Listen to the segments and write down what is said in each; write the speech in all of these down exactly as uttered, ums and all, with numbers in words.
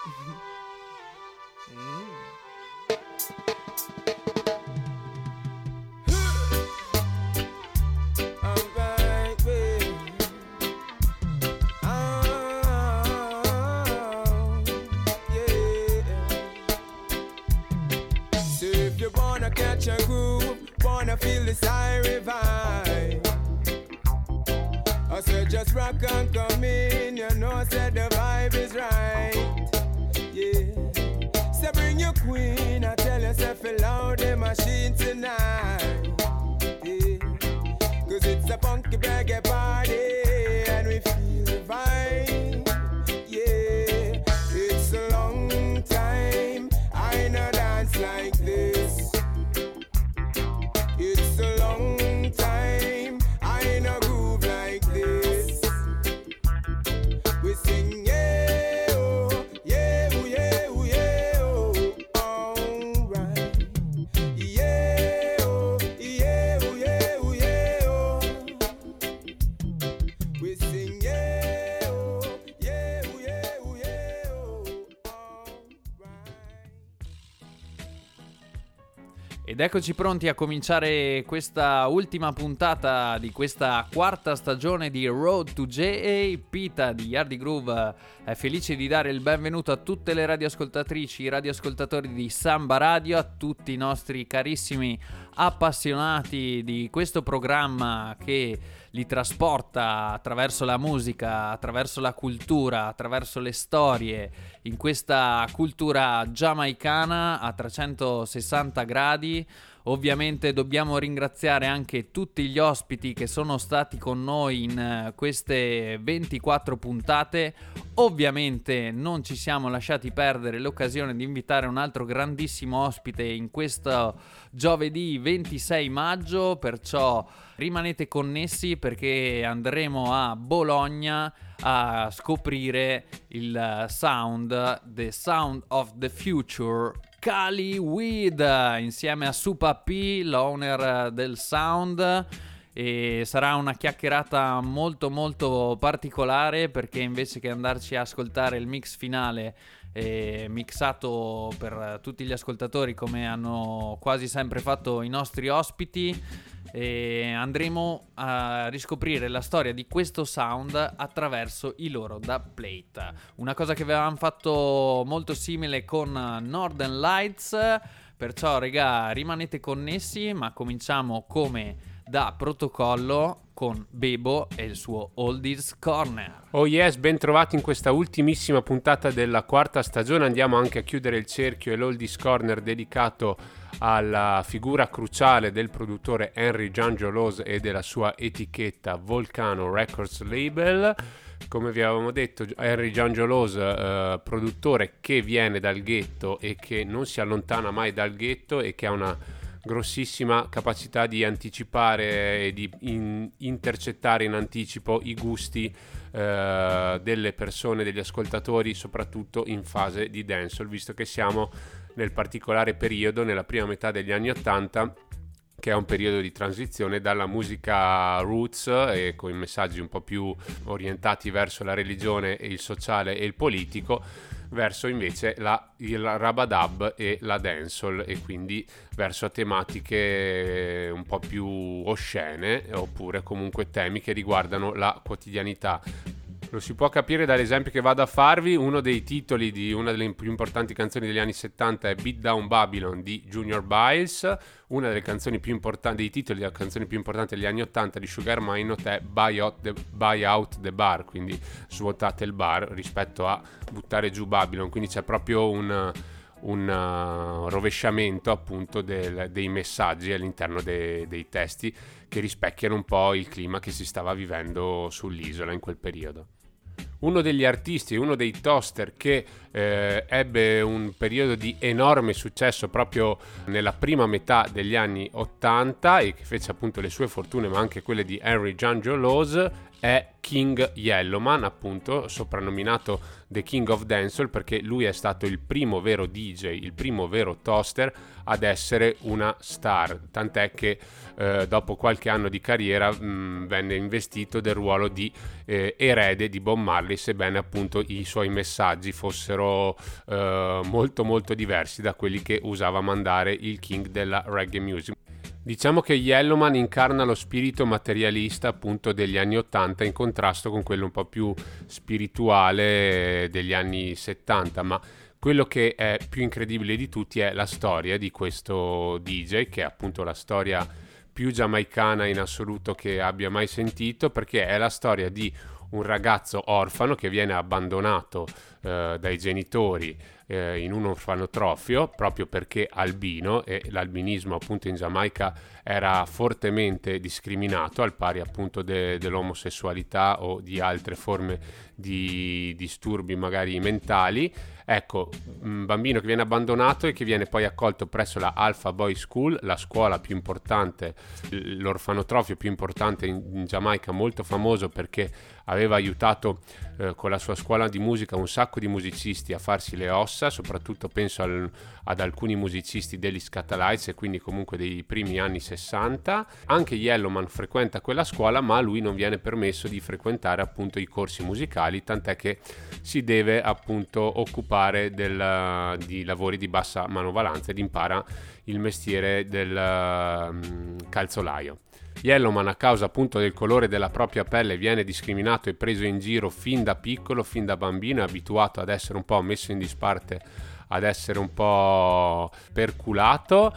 Catch a groove, wanna feel the siren vibe. I said just rock and come in, you know, said the vibe is right. Yeah, so bring your queen, I tell yourself loud the machine tonight. Yeah, cause it's a funky reggae party and we feel the vibe. Yeah, it's a long time I no dance like this. It's a long time I no groove like this. We sing yeah oh, yeah oh, yeah oh, yeah oh, alright. Yeah oh, yeah oh, yeah oh, yeah oh. We sing yeah oh, yeah oh, yeah oh, yeah oh, alright. Ed eccoci pronti a cominciare questa ultima puntata di questa quarta stagione di Road to J A. Pita di Yardi Groove è felice di dare il benvenuto a tutte le radioascoltatrici, i radioascoltatori di Samba Radio, a tutti i nostri carissimi appassionati di questo programma che li trasporta attraverso la musica, attraverso la cultura, attraverso le storie, in questa cultura giamaicana a trecentosessanta gradi. Ovviamente dobbiamo ringraziare anche tutti gli ospiti che sono stati con noi in queste ventiquattro puntate. Ovviamente non ci siamo lasciati perdere l'occasione di invitare un altro grandissimo ospite in questo giovedì ventisei maggio, perciò rimanete connessi perché andremo a Bologna a scoprire il sound, the sound of the future, Cali Weed, insieme a Supa P, l'owner del sound. E sarà una chiacchierata molto molto particolare, perché invece che andarci a ascoltare il mix finale eh, mixato per tutti gli ascoltatori come hanno quasi sempre fatto i nostri ospiti, e andremo a riscoprire la storia di questo sound attraverso i loro dubplate, una cosa che avevamo fatto molto simile con Northern Lights. Perciò regà, rimanete connessi, ma cominciamo come da protocollo con Bebo e il suo Oldies Corner. Oh yes, ben trovati in questa ultimissima puntata della quarta stagione. Andiamo anche a chiudere il cerchio e l'Oldies Corner dedicato alla figura cruciale del produttore Henry Giangelos e della sua etichetta Volcano Records Label. Come vi avevamo detto, Henry Giangelos, eh, produttore che viene dal ghetto e che non si allontana mai dal ghetto e che ha una grossissima capacità di anticipare e di in, intercettare in anticipo i gusti eh, delle persone, degli ascoltatori, soprattutto in fase di dancehall, visto che siamo nel particolare periodo, nella prima metà degli anni ottanta, che è un periodo di transizione dalla musica roots e con i messaggi un po' più orientati verso la religione e il sociale e il politico, verso invece la, il rabadab e la dancehall, e quindi verso tematiche un po' più oscene oppure comunque temi che riguardano la quotidianità. Lo si può capire dall'esempio che vado a farvi. Uno dei titoli di una delle più importanti canzoni degli anni settanta è Beat Down Babylon di Junior Biles. Una delle canzoni più importanti, dei titoli della canzone più importante degli anni ottanta di Sugar Minott è Buy Out, the, Buy Out the Bar, quindi svuotate il bar, rispetto a buttare giù Babylon. Quindi c'è proprio un, un uh, rovesciamento appunto del, dei messaggi all'interno de, dei testi, che rispecchiano un po' il clima che si stava vivendo sull'isola in quel periodo. Uno degli artisti, uno dei toaster che eh, ebbe un periodo di enorme successo proprio nella prima metà degli anni ottanta e che fece appunto le sue fortune, ma anche quelle di Henry Giangelos, è King Yellowman, appunto soprannominato The King of Dancehall, perché lui è stato il primo vero D J, il primo vero toaster ad essere una star, tant'è che eh, dopo qualche anno di carriera mh, venne investito del ruolo di eh, erede di Bob Marley Marley, sebbene appunto i suoi messaggi fossero eh, molto molto diversi da quelli che usava mandare il king della reggae music. Diciamo che Yellowman incarna lo spirito materialista appunto degli anni ottanta in contrasto con quello un po' più spirituale degli anni settanta, ma quello che è più incredibile di tutti è la storia di questo D J, che è appunto la storia più giamaicana in assoluto che abbia mai sentito, perché è la storia di un ragazzo orfano che viene abbandonato eh, dai genitori eh, in un orfanotrofio proprio perché albino, e l'albinismo appunto in Giamaica era fortemente discriminato, al pari appunto de- dell'omosessualità o di altre forme di disturbi magari mentali. Ecco, un bambino che viene abbandonato e che viene poi accolto presso la Alpha Boys School, la scuola più importante, l'orfanotrofio più importante in, in Giamaica, molto famoso perché aveva aiutato eh, con la sua scuola di musica un sacco di musicisti a farsi le ossa, soprattutto penso al, ad alcuni musicisti degli Scatalites e quindi comunque dei primi anni sessanta. Anche Yellowman frequenta quella scuola, ma a lui non viene permesso di frequentare appunto i corsi musicali, tant'è che si deve appunto occupare del, di lavori di bassa manovalanza ed impara il mestiere del um, calzolaio. Yellowman, a causa appunto del colore della propria pelle, viene discriminato e preso in giro fin da piccolo, fin da bambino, è abituato ad essere un po' messo in disparte, ad essere un po' perculato,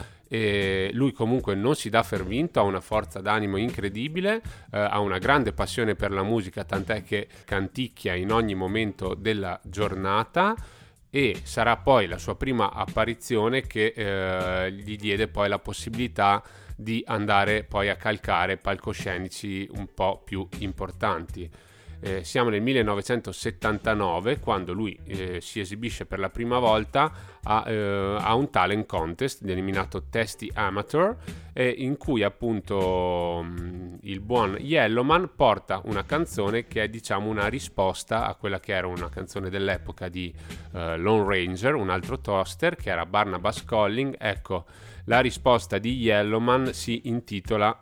e lui comunque non si dà per vinto, ha una forza d'animo incredibile, eh, ha una grande passione per la musica, tant'è che canticchia in ogni momento della giornata, e sarà poi la sua prima apparizione che eh, gli diede poi la possibilità di andare poi a calcare palcoscenici un po' più importanti. Eh, siamo nel millenovecentosettantanove, quando lui eh, si esibisce per la prima volta a, eh, a un talent contest denominato Testy Amateur, eh, in cui appunto mh, il buon Yellowman porta una canzone che è diciamo una risposta a quella che era una canzone dell'epoca di eh, Lone Ranger, un altro toaster che era Barnabas Calling. Ecco, la risposta di Yellowman si intitola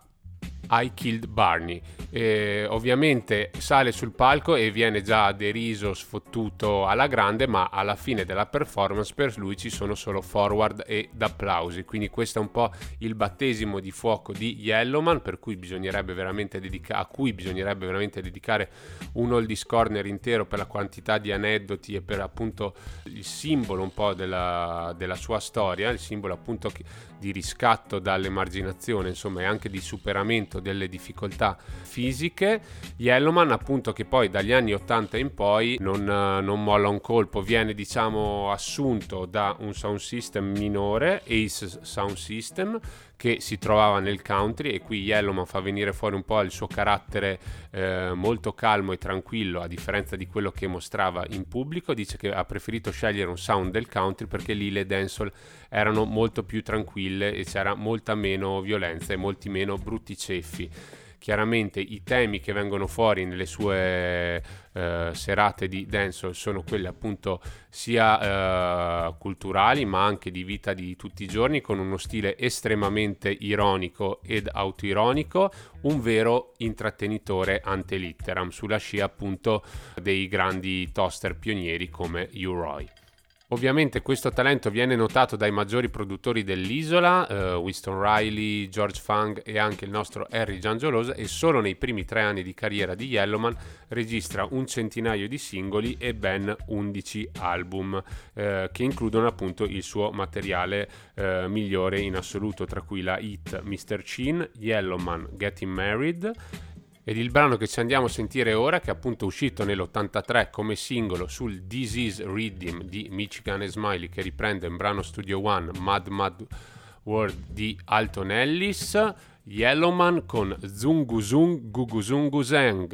I Killed Barney. E ovviamente sale sul palco e viene già deriso, sfottuto alla grande, ma alla fine della performance per lui ci sono solo forward ed applausi, quindi questo è un po' il battesimo di fuoco di Yellowman, per cui bisognerebbe veramente dedica- a cui bisognerebbe veramente dedicare un oldies corner intero per la quantità di aneddoti e per appunto il simbolo un po' della, della sua storia, il simbolo appunto di riscatto dall'emarginazione, insomma, e anche di superamento delle difficoltà fisiche. Yellowman appunto, che poi dagli anni ottanta in poi non, non molla un colpo, viene diciamo assunto da un sound system minore, Ace Sound System, che si trovava nel country, e qui Yellowman fa venire fuori un po' il suo carattere eh, molto calmo e tranquillo, a differenza di quello che mostrava in pubblico. Dice che ha preferito scegliere un sound del country perché lì le dancehall erano molto più tranquille e c'era molta meno violenza e molti meno brutti ceffi. Chiaramente i temi che vengono fuori nelle sue eh, serate di dancehall sono quelli appunto sia eh, culturali ma anche di vita di tutti i giorni, con uno stile estremamente ironico ed autoironico, un vero intrattenitore ante litteram, sulla scia appunto dei grandi toaster pionieri come U-Roy. Ovviamente questo talento viene notato dai maggiori produttori dell'isola, eh, Winston Riley, George Funk e anche il nostro Harry Giangelosa, e solo nei primi tre anni di carriera di Yellowman registra un centinaio di singoli e ben undici album eh, che includono appunto il suo materiale eh, migliore in assoluto, tra cui la hit mister Chin, Yellowman Getting Married. Ed il brano che ci andiamo a sentire ora, che è appunto uscito nell'ottantatré come singolo sul This Is Rhythm di Michigan e Smiley, che riprende in brano Studio One Mad Mad World di Alton Ellis, Yellowman con Zungu Zung Gugu Zungu Zeng.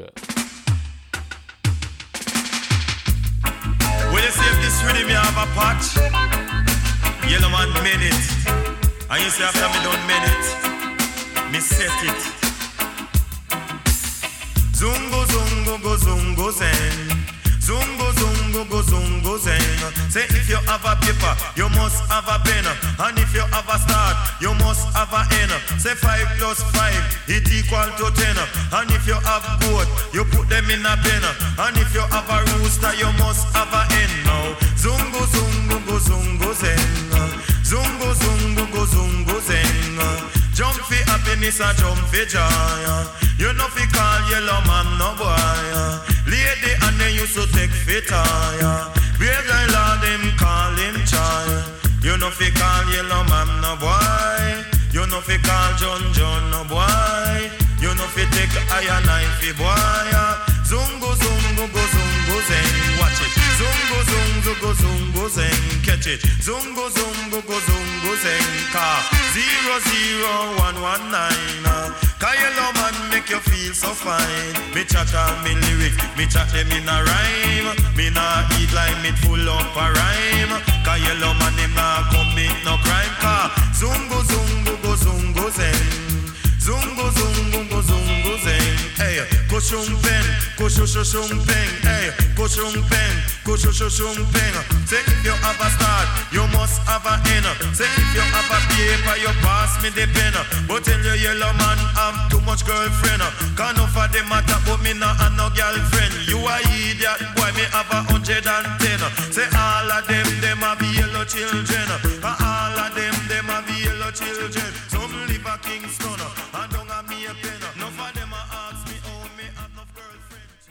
When you say if this rhythm you have a patch, Yellowman made it, and you say after me don't made it, me set it. Zungo zungo go zungo zen, zungo zungo go zungo zen, Say if you have a paper, you must have a pen. And if you have a start, you must have a end. Say five plus five, it equal to ten. And if you have goat, you put them in a pen. And if you have a rooster, you must have a hen. Now, zungu zungu go zungu zeng. Zungu zungu go zungu zeng. Jump for happiness and jump for joy. You know fi call yellow man no boy. Lady and they used to take fit tire. Bear guy lord them call him child. You know fi call yellow man no boy. You know fi call John John no boy. You know fi take iron knife fi boy. Zungu zungu go zungu zeng. Watch it. Zungu zungu go zungu zeng. Catch it. Zungu zungu go zungu zeng. Car zero zero one one nine. Cause yellow man make you feel so fine. Me chat all me lyrics, me chat them in a rhyme. Me nah eat like me full up a rhyme. Cause yellow man him nah commit no crime. Cause zungu zungu go zungu zeng. Zungu zungu go zungu zeng. Hey, go shumpen, go shumpen. Hey, go shumpen, go shumpen. Say if you have a start, you must have a end. Say if you have a paper, you pass me the pen. But tell you yellow man have too much girlfriend. Can't no for them matter, but me not have no girlfriend. You a idiot, boy, me have a hundred and ten. Say all of them, them have yellow children. And all of them, them have yellow children. Some live a Kingston, and don't have me a pen. No for them a ask me, oh, me have no girlfriend.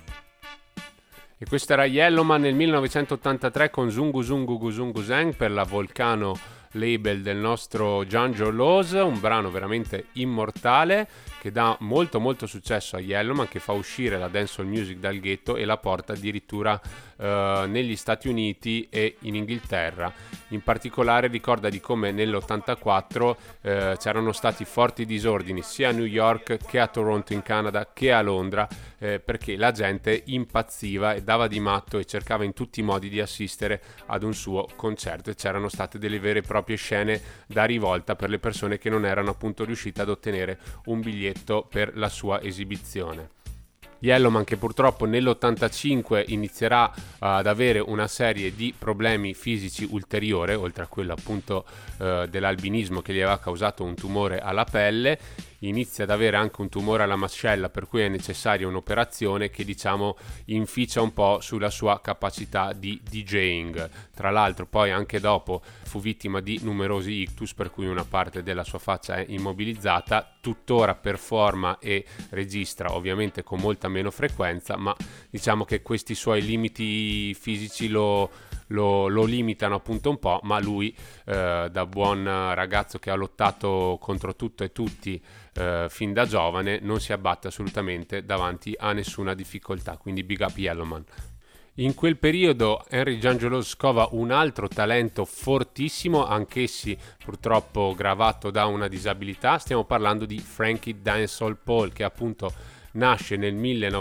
E questo era Yellowman nel millenovecentottantatré con Zungu Zungu Guzungu Zeng per la Volcano label del nostro Janjo Laws, un brano veramente immortale che dà molto molto successo a Yellowman, che fa uscire la dancehall music dal ghetto e la porta addirittura eh, negli Stati Uniti e in Inghilterra. In particolare ricorda di come nell'ottantaquattro eh, c'erano stati forti disordini sia a New York che a Toronto in Canada che a Londra, eh, perché la gente impazziva e dava di matto e cercava in tutti i modi di assistere ad un suo concerto, e c'erano state delle vere e proprie scene da rivolta per le persone che non erano appunto riuscite ad ottenere un biglietto per la sua esibizione. Yellowman, che purtroppo nell'ottantacinque inizierà uh, ad avere una serie di problemi fisici ulteriore, oltre a quello appunto uh, dell'albinismo che gli aveva causato un tumore alla pelle, inizia ad avere anche un tumore alla mascella, per cui è necessaria un'operazione che diciamo inficia un po' sulla sua capacità di DJing. Tra l'altro poi anche dopo fu vittima di numerosi ictus, per cui una parte della sua faccia è immobilizzata, tuttora performa e registra ovviamente con molta meno frequenza, ma diciamo che questi suoi limiti fisici lo Lo, lo limitano appunto un po', ma lui eh, da buon ragazzo che ha lottato contro tutto e tutti eh, fin da giovane non si abbatte assolutamente davanti a nessuna difficoltà, quindi big up Yellowman. In quel periodo Henry Janjo Laws scova un altro talento fortissimo, anch'essi purtroppo gravato da una disabilità. Stiamo parlando di Frankie Dancehall Paul, che appunto nasce nel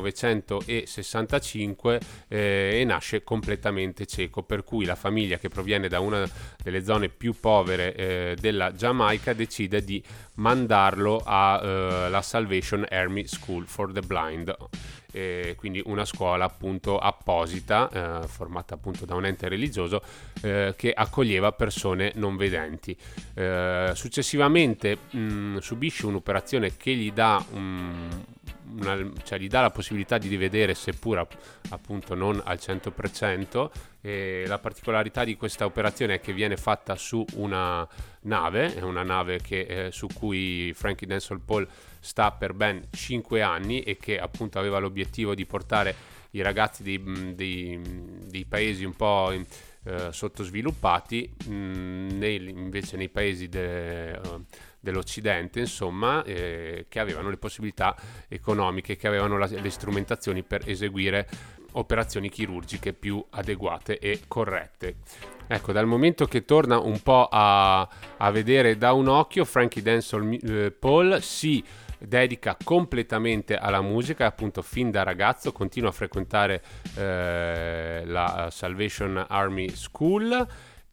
millenovecentosessantacinque eh, e nasce completamente cieco, per cui la famiglia, che proviene da una delle zone più povere eh, della Giamaica, decide di mandarlo alla eh, Salvation Army School for the Blind, eh, quindi una scuola appunto apposita eh, formata appunto da un ente religioso eh, che accoglieva persone non vedenti. Eh, successivamente mh, subisce un'operazione che gli dà un Una, cioè gli dà la possibilità di rivedere, seppur appunto non al cento per cento, e la particolarità di questa operazione è che viene fatta su una nave, è una nave che, eh, su cui Frankie Dancehall Paul sta per ben cinque anni e che appunto aveva l'obiettivo di portare i ragazzi dei, dei, dei paesi un po' in, eh, sottosviluppati mh, nei, invece nei paesi de, uh, dell'Occidente, insomma, eh, che avevano le possibilità economiche, che avevano la, le strumentazioni per eseguire operazioni chirurgiche più adeguate e corrette. Ecco, dal momento che torna un po' a, a vedere da un occhio, Frankie Dancehall eh, Paul si dedica completamente alla musica, appunto fin da ragazzo continua a frequentare eh, la Salvation Army School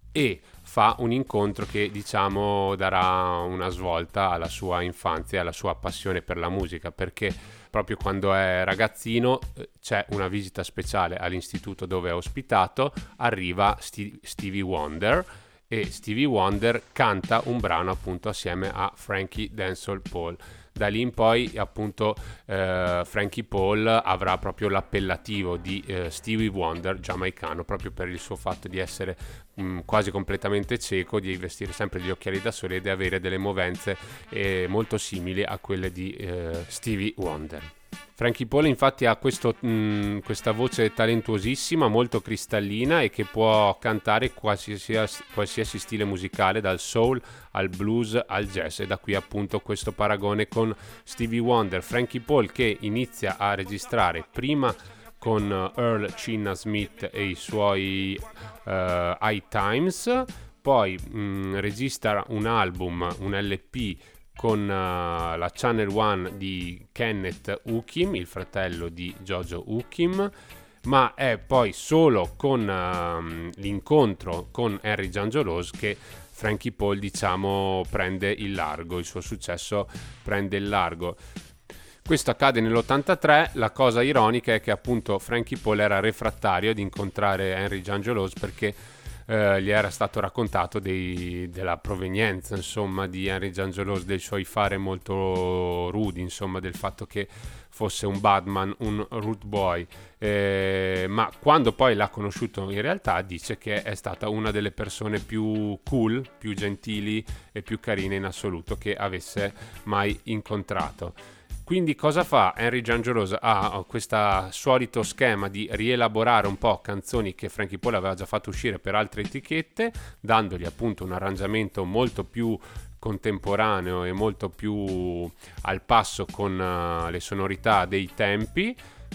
e fa un incontro che diciamo darà una svolta alla sua infanzia e alla sua passione per la musica, perché proprio quando è ragazzino c'è una visita speciale all'istituto dove è ospitato, arriva St- Stevie Wonder e Stevie Wonder canta un brano appunto assieme a Frankie Denzel Paul. Da lì in poi appunto eh, Frankie Paul avrà proprio l'appellativo di eh, Stevie Wonder giamaicano, proprio per il suo fatto di essere mh, quasi completamente cieco, di vestire sempre gli occhiali da sole e di avere delle movenze eh, molto simili a quelle di eh, Stevie Wonder. Frankie Paul infatti ha questo, mh, questa voce talentuosissima, molto cristallina e che può cantare qualsiasi, qualsiasi stile musicale, dal soul al blues al jazz, e da qui appunto questo paragone con Stevie Wonder. Frankie Paul che inizia a registrare prima con Earl Chinna Smith e i suoi uh, High Times, poi mh, registra un album, un L P con uh, la Channel One di Kenneth Hookim, il fratello di Jojo Hookim, ma è poi solo con uh, l'incontro con Henry Jangiolos che Frankie Paul diciamo prende il largo, il suo successo prende il largo. Questo accade nell'ottantatré, la cosa ironica è che appunto Frankie Paul era refrattario ad incontrare Henry Jangiolos perché Uh, gli era stato raccontato dei, della provenienza insomma di Henry Jangiolos, dei suoi fare molto rudi, insomma del fatto che fosse un badman, un rude boy, eh, ma quando poi l'ha conosciuto in realtà dice che è stata una delle persone più cool, più gentili e più carine in assoluto che avesse mai incontrato. Quindi cosa fa Henry Jangiolos? Ha questo solito schema di rielaborare un po' canzoni che Frankie Paul aveva già fatto uscire per altre etichette, dandogli appunto un arrangiamento molto più contemporaneo e molto più al passo con uh, le sonorità dei tempi.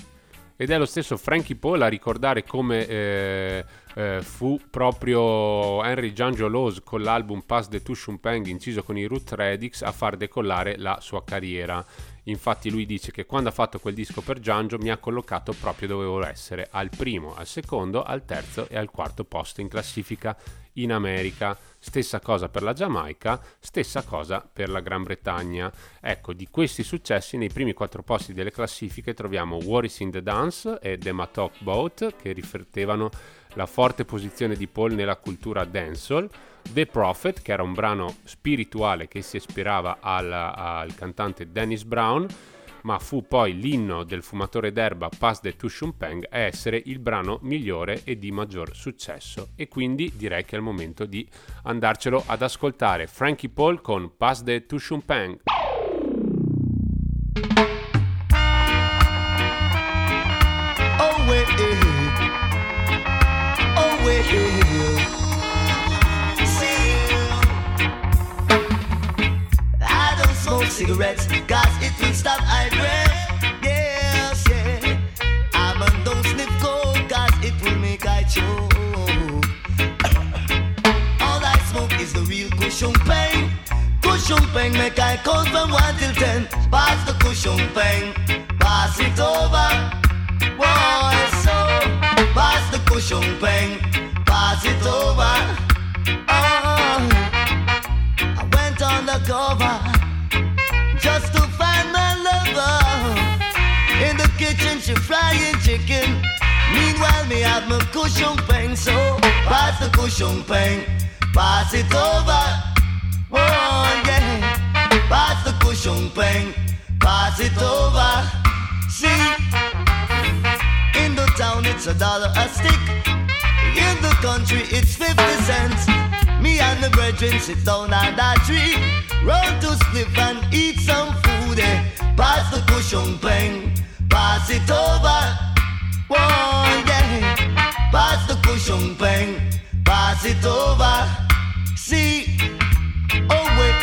Ed è lo stesso Frankie Paul a ricordare come eh, eh, fu proprio Henry Jangiolos con l'album Pass the Tushun Peng inciso con i Root Radix a far decollare la sua carriera. Infatti lui dice che quando ha fatto quel disco per Jangio mi ha collocato proprio dove volevo essere, al primo, al secondo, al terzo e al quarto posto in classifica in America. Stessa cosa per la Giamaica, stessa cosa per la Gran Bretagna. Ecco, di questi successi nei primi quattro posti delle classifiche troviamo What is in the Dance e The Mattock Boat, che riflettevano la forte posizione di Paul nella cultura dancehall, The Prophet, che era un brano spirituale che si ispirava al, al cantante Dennis Brown, ma fu poi l'inno del fumatore d'erba Pass the Tushun Peng a essere il brano migliore e di maggior successo. E quindi direi che è il momento di andarcelo ad ascoltare. Frankie Paul con Pass the Tushun Peng. Oh wait, oh wait, smoke cigarettes, cause it will stop I breath. Yes, yeah. I'm a don't sniff coke, cause it will make I choke. All I smoke is the real cushion pain. Cushion pain make I count from one till ten. Pass the cushion pain, pass it over. Boy, so pass the cushion pain, pass it over. Oh, I went on the cover just to find my lover. In the kitchen she frying chicken. Meanwhile me have my cushion pain. So pass the cushion pain, pass it over. Oh yeah, pass the cushion pain, pass it over. See, in the town it's a dollar a stick. In the country it's fifty cents. Me and the brethren sit down on that tree, round to split and eat some food, eh. Pass the cushion pain, pass it over. Whoa, yeah. Pass the cushion pain, pass it over. See, oh wait,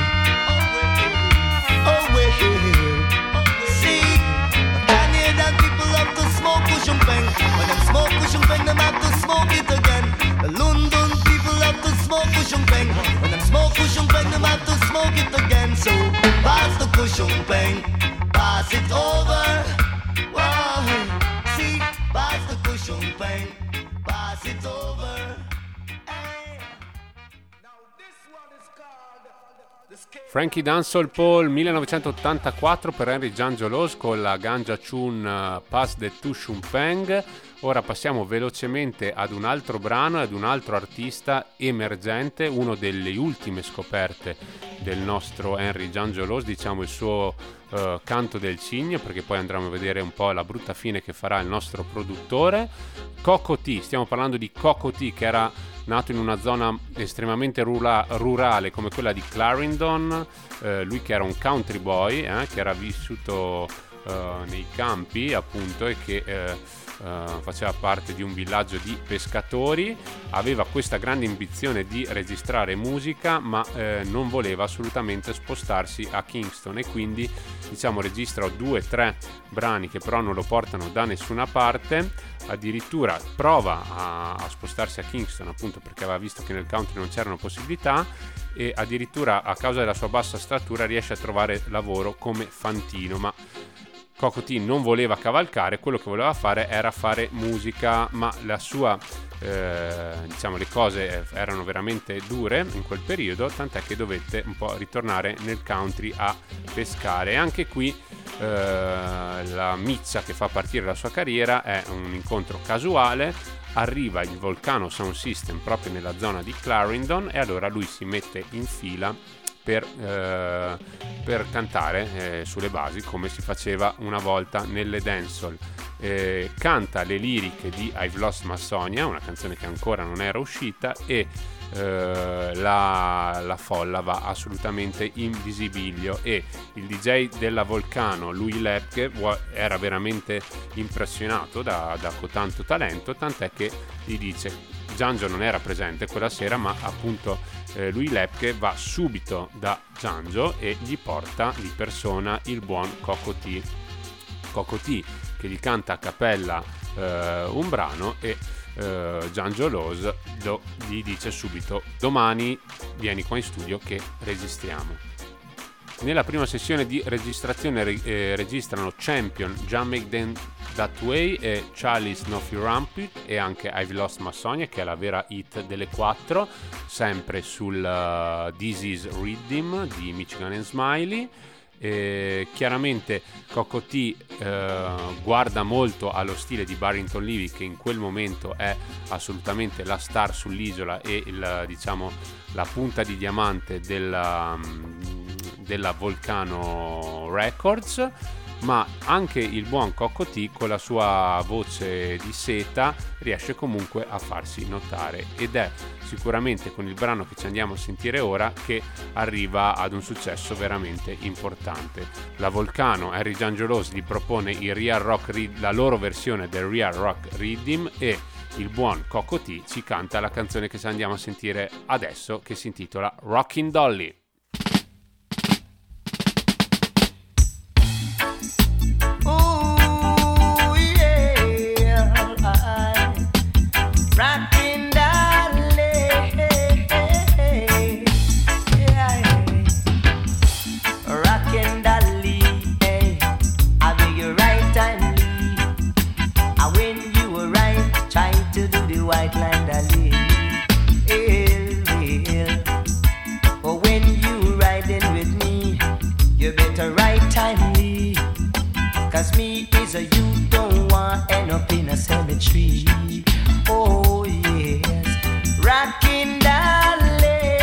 oh wait, see, Canadian people love to smoke cushion pain. When them smoke cushion pain, them have to smoke it again. The London people love to smoke cushion pain. When them smoke cushion pain, them have to smoke it again. So pass the cushion pain, pass it over. Whoa, see, pass the cushion pain, pass it over. Hey. Frankie Dancehall Paul millenovecentottantaquattro per Henry Janjolos con la Ganja Tune uh, Pass the Tu Shumpeng. Ora passiamo velocemente ad un altro brano e ad un altro artista emergente, uno delle ultime scoperte del nostro Henry Janjolos, diciamo il suo uh, canto del cigno, perché poi andremo a vedere un po' la brutta fine che farà il nostro produttore. Coco T, stiamo parlando di Coco T, che era nato in una zona estremamente rura- rurale come quella di Clarendon, eh, lui che era un country boy, eh, che era vissuto eh, nei campi appunto e che eh, Uh, faceva parte di un villaggio di pescatori, aveva questa grande ambizione di registrare musica, ma eh, non voleva assolutamente spostarsi a Kingston, e quindi diciamo registra due o tre brani che però non lo portano da nessuna parte. Addirittura prova a, a spostarsi a Kingston appunto perché aveva visto che nel country non c'erano possibilità, e addirittura a causa della sua bassa statura riesce a trovare lavoro come fantino, ma Coco T non voleva cavalcare, quello che voleva fare era fare musica, ma la sua, eh, diciamo, le cose erano veramente dure in quel periodo, tant'è che dovette un po' ritornare nel country a pescare. E anche qui eh, la miccia che fa partire la sua carriera è un incontro casuale. Arriva il Volcano Sound System proprio nella zona di Clarendon e allora lui si mette in fila Per, eh, per cantare eh, sulle basi come si faceva una volta nelle dancehall. Eh, canta le liriche di I've Lost My Sonia, una canzone che ancora non era uscita, e eh, la, la folla va assolutamente in visibilio, e il D J della Volcano, Louis Lepke, era veramente impressionato da, da tanto talento, tant'è che gli dice, Janjo non era presente quella sera, ma appunto eh, Louis Lepke va subito da Janjo e gli porta di persona il buon Coco T. Coco T che gli canta a cappella eh, un brano, e eh, Janjolos lo, gli dice subito: domani vieni qua in studio che registriamo. Nella prima sessione di registrazione eh, registrano Champion, Jam Make Them That Way e Charlie's Snuffy Rampant, e anche I've Lost My Sonia, che è la vera hit delle quattro, sempre sul uh, This Is Rhythm di Michigan and Smiley. E chiaramente Coco T eh, guarda molto allo stile di Barrington Levy, che in quel momento è assolutamente la star sull'isola e il, diciamo, la punta di diamante della, della Volcano Records. Ma anche il buon Coco T, con la sua voce di seta, riesce comunque a farsi notare, ed è sicuramente con il brano che ci andiamo a sentire ora che arriva ad un successo veramente importante. La Volcano, Henry Janjolos, gli propone il Real Rock, la loro versione del Real Rock Rhythm, e il buon Coco T ci canta la canzone che ci andiamo a sentire adesso, che si intitola Rockin' Dolly. White line Dolly, well, well. But when you riding with me, you better ride timely. Cause me is a you don't want end up in a cemetery. Oh yes, rockin' Dolly,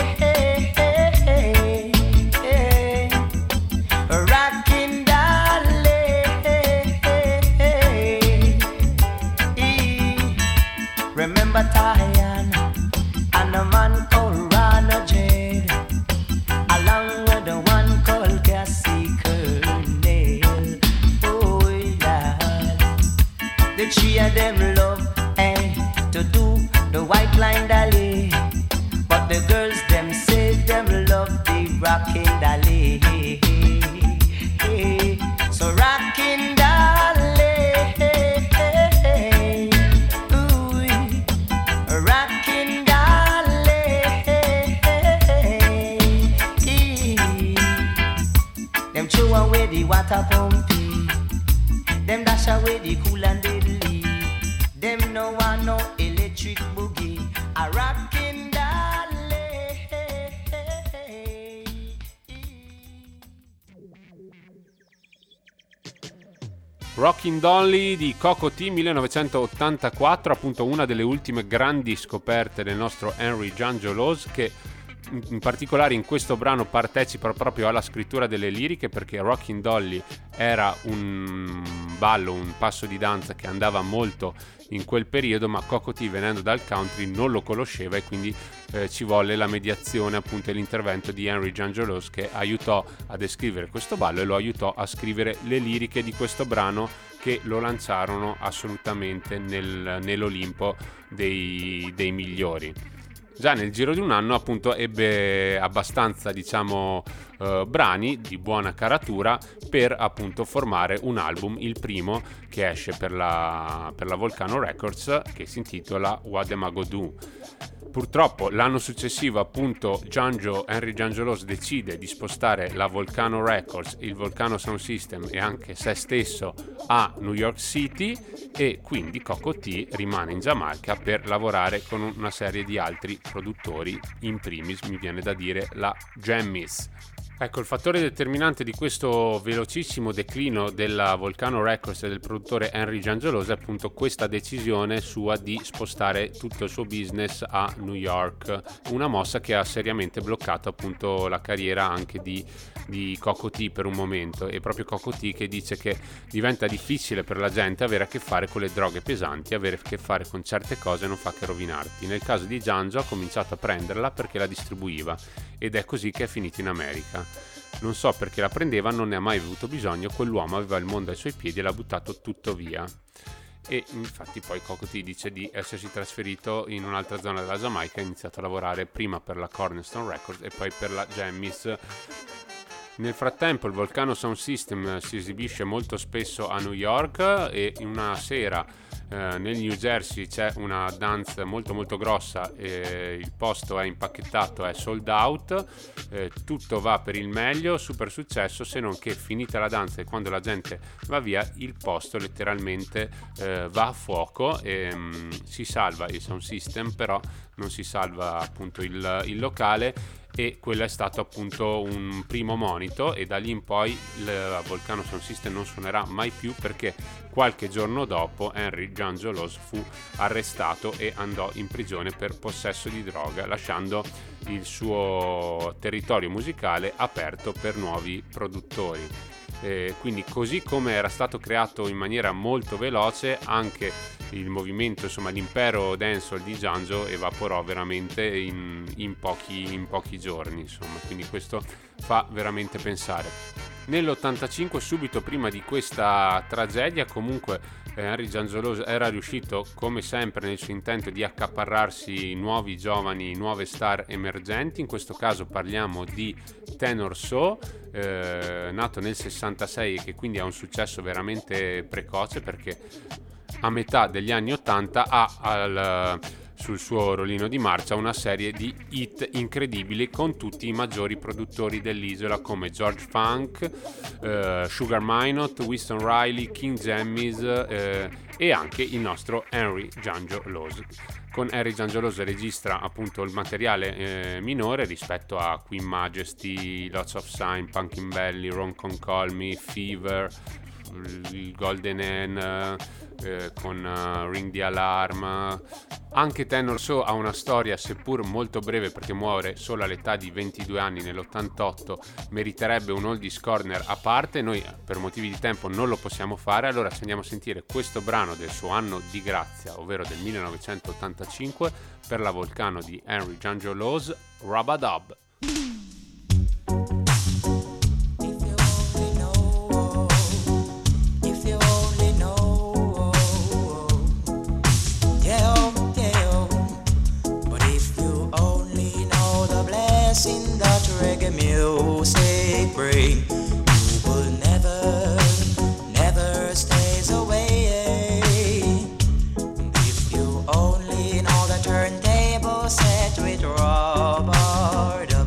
rockin' Dolly. Remember Tyan and a man called Rana Jade, along with the one called Cassie Colonel. Oh Lord, the three of them love eh, to do the white line Dolly, but the girls them say them love the rockin' Dolly. So rockin' Dolly, rockin' Dolly, them throw away the water pumpy, them dash away the cool and deadly, them no want no electric boogie, a rockin' Dolly. Rockin' Dolly di Coco T millenovecentottantaquattro, appunto una delle ultime grandi scoperte del nostro Henry Jangelos, che in particolare in questo brano partecipa proprio alla scrittura delle liriche, perché Rockin' Dolly era un ballo, un passo di danza che andava molto in quel periodo, ma Coco T, venendo dal country, non lo conosceva, e quindi eh, ci volle la mediazione, appunto, e l'intervento di Henry Jangelos, che aiutò a descrivere questo ballo e lo aiutò a scrivere le liriche di questo brano, che lo lanciarono assolutamente nel, nell'Olimpo dei, dei migliori. Già nel giro di un anno, appunto, ebbe abbastanza, diciamo, eh, brani di buona caratura per, appunto, formare un album, il primo che esce per la, per la Volcano Records, che si intitola What Am I Go Do. Purtroppo l'anno successivo, appunto, Janjo, Henry Jangelos decide di spostare la Volcano Records, il Volcano Sound System e anche se stesso a New York City, e quindi Coco T rimane in Giamaica per lavorare con una serie di altri produttori, in primis mi viene da dire la Jammies. Ecco, il fattore determinante di questo velocissimo declino della Volcano Records e del produttore Henry Jangelos è appunto questa decisione sua di spostare tutto il suo business a New York, una mossa che ha seriamente bloccato, appunto, la carriera anche di, di Coco T per un momento. E proprio Coco T che dice che diventa difficile per la gente avere a che fare con le droghe pesanti, avere a che fare con certe cose non fa che rovinarti. Nel caso di Janjo ha cominciato a prenderla perché la distribuiva, ed è così che è finito in America. Non so perché la prendeva, non ne ha mai avuto bisogno, quell'uomo aveva il mondo ai suoi piedi e l'ha buttato tutto via. E infatti poi Coco T dice di essersi trasferito in un'altra zona della Giamaica, ha iniziato a lavorare prima per la Cornerstone Records e poi per la Jammies. Nel frattempo il Volcano Sound System si esibisce molto spesso a New York, e in una sera eh, nel New Jersey c'è una dance molto molto grossa, e il posto è impacchettato, è sold out, eh, tutto va per il meglio, super successo, se non che finita la danza e quando la gente va via il posto letteralmente eh, va a fuoco, e mh, si salva il sound system, però non si salva, appunto, il, il locale. E quello è stato, appunto, un primo monito, e da lì in poi il Volcano Sound System non suonerà mai più, perché qualche giorno dopo Henry Jangelos fu arrestato e andò in prigione per possesso di droga, lasciando il suo territorio musicale aperto per nuovi produttori. Eh, quindi, così come era stato creato in maniera molto veloce, anche il movimento, insomma l'impero dancehall di Janjo evaporò veramente in, in, pochi, in pochi giorni, insomma, quindi questo fa veramente pensare. Nell'ottantacinque, subito prima di questa tragedia, comunque eh, Henry Jangelos era riuscito, come sempre, nel suo intento di accaparrarsi nuovi giovani, nuove star emergenti. In questo caso parliamo di Tenor So, eh, nato nel sessantasei, e che quindi ha un successo veramente precoce, perché a metà degli anni ottanta ha al, sul suo rollino di marcia una serie di hit incredibili con tutti i maggiori produttori dell'isola, come George Funk, eh, Sugar Minott, Winston Riley, King Jammies eh, e anche il nostro Henry Jangelos. Con Henry Jangelos registra, appunto, il materiale eh, minore rispetto a Queen Majesty, Lots of Sign, Pumpkin Belly, Ron Con Call Me, Fever, il Golden Hen eh, con uh, Ring the Alarm. Anche Tenor So ha una storia, seppur molto breve, perché muore solo all'età di ventidue anni nell'ottantotto, meriterebbe un oldies corner a parte. Noi per motivi di tempo non lo possiamo fare, allora ci andiamo a sentire questo brano del suo anno di grazia, ovvero del millenovecentottantacinque, per la Volcano di Henry Jangelos, Rub-a-Dub. That reggae music bring, you will never, never stays away. If you only know the turntable set with rubber dub.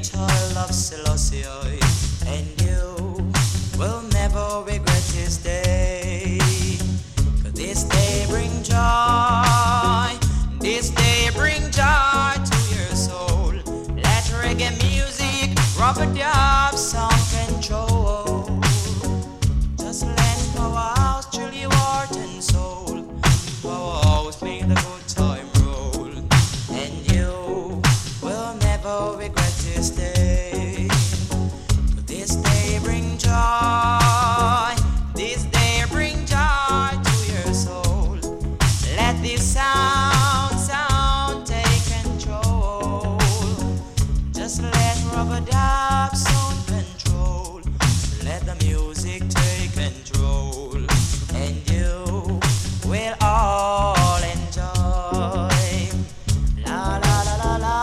child of Selassie, and you will never regret this day. 'Cause this day bring joy, this day bring joy to your soul. Let reggae music rub a dub some control. Just let Powerhouse chill your heart and soul. Powerhouse make the good time roll, and you will never regret this day. This day bring joy, this day bring joy to your soul. Let this sound, sound take control. Just let rubber dub sound control. Let the music take control, and you will all enjoy. La la la la la,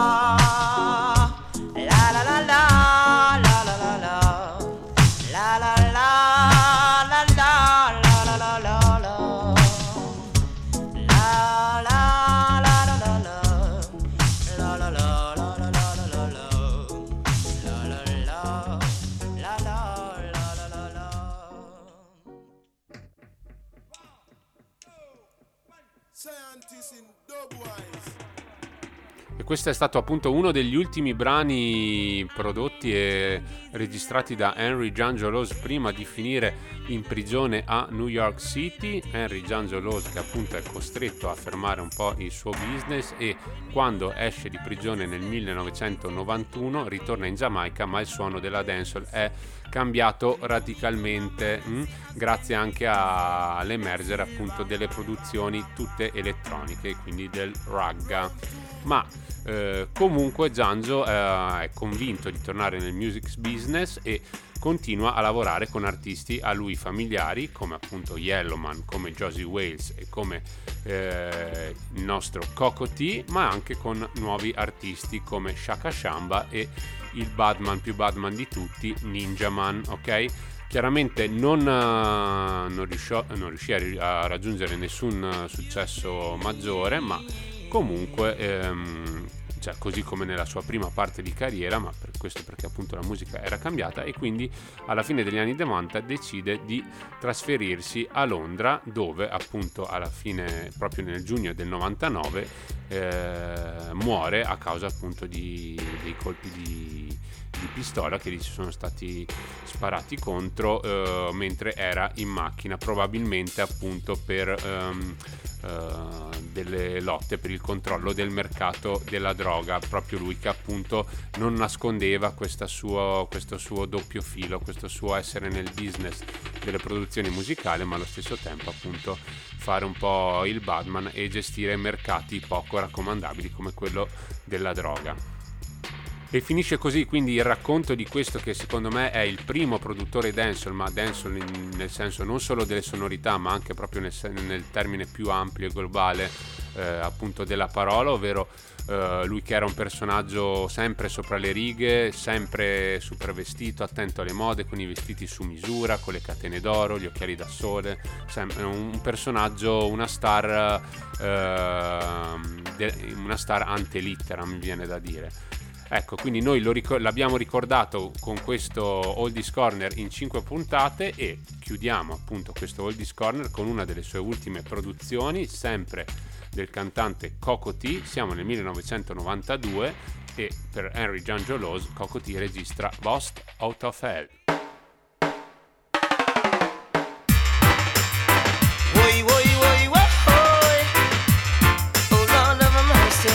la la la la, la la la la, la la la la la, la la la la la, la la la la la la, la la la la la la la la, la la la la la la la la. Scientists in Dubwise. E questo è stato appunto uno degli ultimi brani prodotti e registrati da Henry Jangelos prima di finire in prigione a New York City. Henry Jangelos che appunto è costretto a fermare un po' il suo business e quando esce di prigione nel millenovecentonovantuno ritorna in Giamaica, ma il suono della dancehall è cambiato radicalmente mh? grazie anche a, all'emergere appunto delle produzioni tutte elettroniche, quindi del ragga. Ma eh, comunque Janjo eh, è convinto di tornare nel music business e continua a lavorare con artisti a lui familiari come appunto Yellowman, come Josie Wales e come eh, il nostro Coco T, ma anche con nuovi artisti come Shaka Shamba e il Badman più Badman di tutti, Ninjaman, ok? Chiaramente non, uh, non, riusciò, non riuscì a, a raggiungere nessun uh, successo maggiore, ma comunque ehm, cioè, così come nella sua prima parte di carriera, ma per questo perché appunto la musica era cambiata, e quindi alla fine degli anni novanta decide di trasferirsi a Londra, dove appunto alla fine, proprio nel giugno del novantanove, eh, muore a causa appunto di, dei colpi di, di pistola che gli sono stati sparati contro eh, mentre era in macchina, probabilmente appunto per ehm, Uh, delle lotte per il controllo del mercato della droga. Proprio lui che appunto non nascondeva questa suo, questo suo doppio filo, questo suo essere nel business delle produzioni musicali, ma allo stesso tempo appunto fare un po' il Badman e gestire mercati poco raccomandabili come quello della droga. E finisce così quindi il racconto di questo che secondo me è il primo produttore dancehall, ma dancehall in, nel senso non solo delle sonorità, ma anche proprio nel, nel termine più ampio e globale eh, appunto della parola, ovvero eh, lui che era un personaggio sempre sopra le righe, sempre super vestito, attento alle mode, con i vestiti su misura, con le catene d'oro, gli occhiali da sole, sempre un personaggio, una star, eh, de, una star ante litteram, mi viene da dire. Ecco, quindi noi lo ricor- l'abbiamo ricordato con questo Oldies Corner in cinque puntate e chiudiamo appunto questo Oldies Corner con una delle sue ultime produzioni, sempre del cantante Coco T. Siamo nel millenovecentonovantadue e per Henry Jangelos Coco T registra Lost Out of Hell. Woi, woi, woi, woi. Oh Lord have mercy.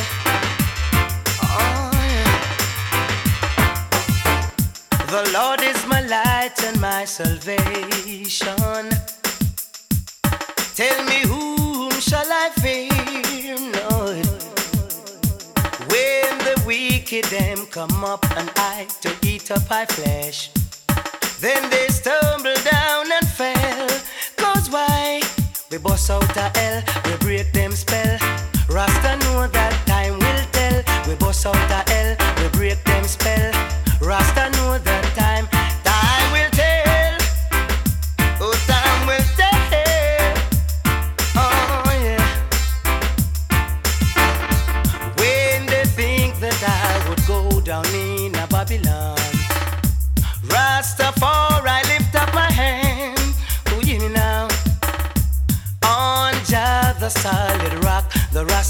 The Lord is my light and my salvation. Tell me whom shall I fear? No. When the wicked them come up and I to eat up my flesh, then they stumble down and fell. Cause why? We bust out a hell, we break them spell. Rasta know that time will tell. We bust out a hell, we break them spell. Rasta know that time, time will tell. Oh, time will tell. Oh, yeah. When they think that I would go down in a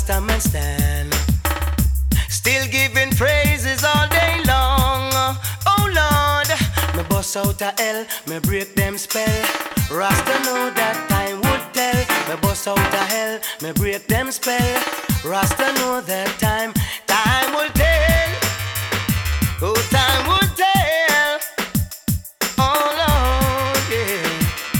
Rasta man stand, still giving praises all day long. Oh Lord, me bust out a L, me break them spell. Rasta know that time would tell. Me bust out a hell, me break them spell. Rasta know that time, time will tell. Oh, time will tell. Oh Lord, yeah.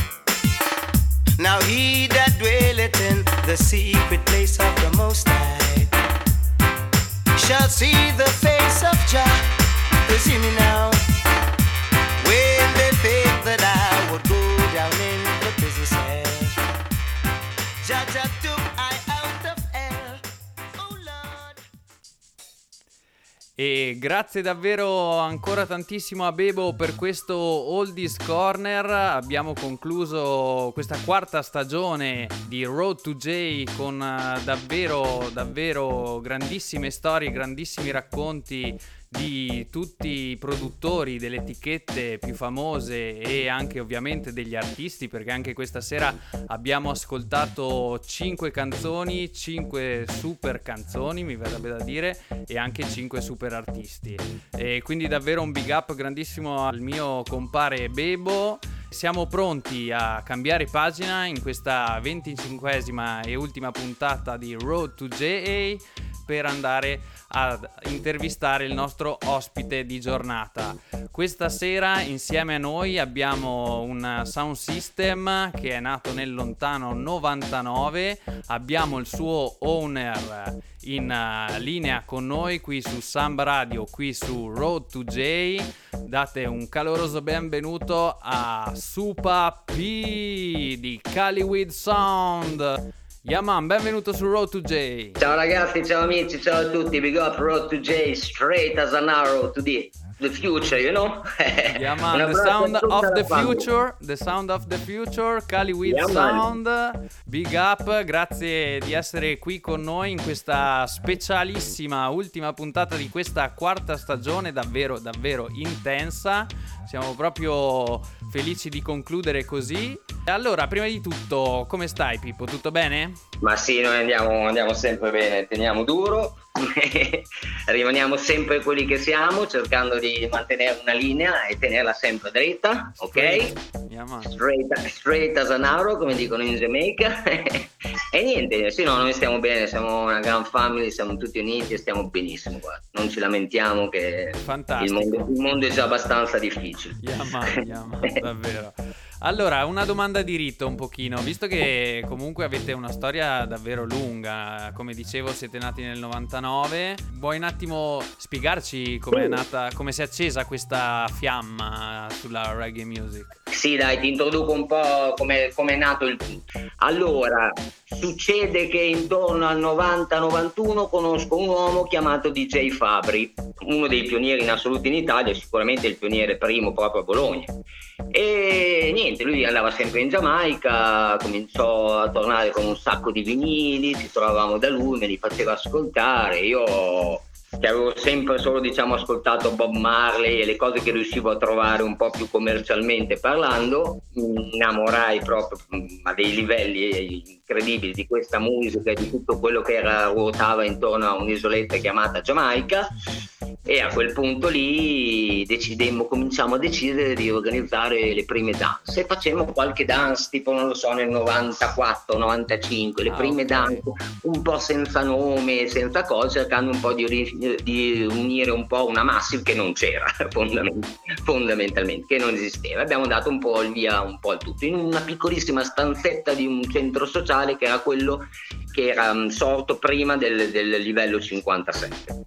Now he that dwelleth in the secret place of the Most High shall see the face of Jah. You see me now. When they think that I would go down in the prison cell, Jah Jah took I out of hell. Oh Lord. E grazie davvero ancora tantissimo a Bebo per questo Oldies Corner. Abbiamo concluso questa quarta stagione di Road to J con uh, davvero davvero grandissime storie, grandissimi racconti di tutti i produttori delle etichette più famose e anche ovviamente degli artisti, perché anche questa sera abbiamo ascoltato cinque canzoni, cinque super canzoni mi verrebbe da dire, e anche cinque super artisti, e quindi davvero un big up grandissimo al mio compare Bebo. Siamo pronti a cambiare pagina in questa venticinquesima e ultima puntata di Road to J A per andare ad intervistare il nostro ospite di giornata. Questa sera insieme a noi abbiamo un sound system che è nato nel lontano novantanove, abbiamo il suo owner in uh, linea con noi qui su Samba Radio, qui su Road to J. Date un caloroso benvenuto a Supa P di Caliweed Sound. Yaman, benvenuto su Road to J. Ciao ragazzi, ciao amici, ciao a tutti. Big up Road to J, straight as an arrow to the, the future, you know? Yaman, the sound of the future, the sound of the future, Caliweed yeah, Sound. Man. Big up, grazie di essere qui con noi in questa specialissima ultima puntata di questa quarta stagione, davvero, davvero intensa. Siamo proprio felici di concludere così. Allora, prima di tutto, come stai Pippo? Tutto bene? Ma sì, noi andiamo, andiamo sempre bene, teniamo duro, rimaniamo sempre quelli che siamo, cercando di mantenere una linea e tenerla sempre dritta, ok? Yeah, straight, straight as an arrow, come dicono in Jamaica. E niente, sì, no, noi stiamo bene, siamo una gran family, siamo tutti uniti e stiamo benissimo, guarda. Non ci lamentiamo che il mondo, il mondo è già abbastanza difficile. Yeah, man, yeah, man, davvero. Allora, una domanda di rito un pochino, visto che comunque avete una storia davvero lunga, come dicevo siete nati nel novantanove, vuoi un attimo spiegarci come è nata, come si è accesa questa fiamma sulla reggae music? Sì, dai, ti introduco un po' come è nato il tutto. Allora, succede che intorno al novanta novantuno conosco un uomo chiamato D J Fabri, uno dei pionieri in assoluto in Italia, sicuramente il pioniere primo proprio a Bologna. E niente, lui andava sempre in Giamaica, cominciò a tornare con un sacco di vinili, ci trovavamo da lui, me li faceva ascoltare. Io che avevo sempre solo diciamo ascoltato Bob Marley e le cose che riuscivo a trovare un po' più commercialmente parlando, mi innamorai proprio a dei livelli incredibili di questa musica e di tutto quello che era, ruotava intorno a un'isoletta chiamata Giamaica. E a quel punto lì decidemmo, cominciamo a decidere di organizzare le prime dance e facemmo qualche dance tipo non lo so nel novantaquattro novantacinque, le ah, prime okay. dance un po' senza nome, senza cose, cercando un po' di, di unire un po' una massive che non c'era fondament- fondamentalmente, che non esisteva. Abbiamo dato un po' il via un po' al tutto in una piccolissima stanzetta di un centro sociale che era quello che era um, sorto prima del, del livello cinquantasette.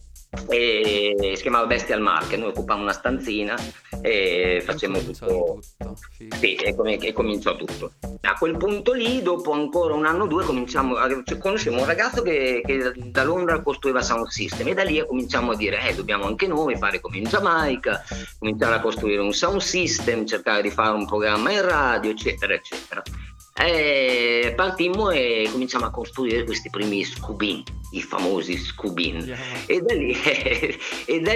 E si chiamava Bestial Market, noi occupavamo una stanzina e facemmo tutto, tutto. Sì, e, com- e cominciò tutto. A quel punto lì, dopo ancora un anno o due, cominciamo a cioè, conoscemmo un ragazzo che, che da Londra costruiva sound system e da lì cominciamo a dire eh, dobbiamo anche noi fare come in Giamaica, cominciare a costruire un sound system, cercare di fare un programma in radio, eccetera, eccetera. Eh, partimmo e cominciamo a costruire questi primi scubini, i famosi scubini, yeah. e, da lì, e da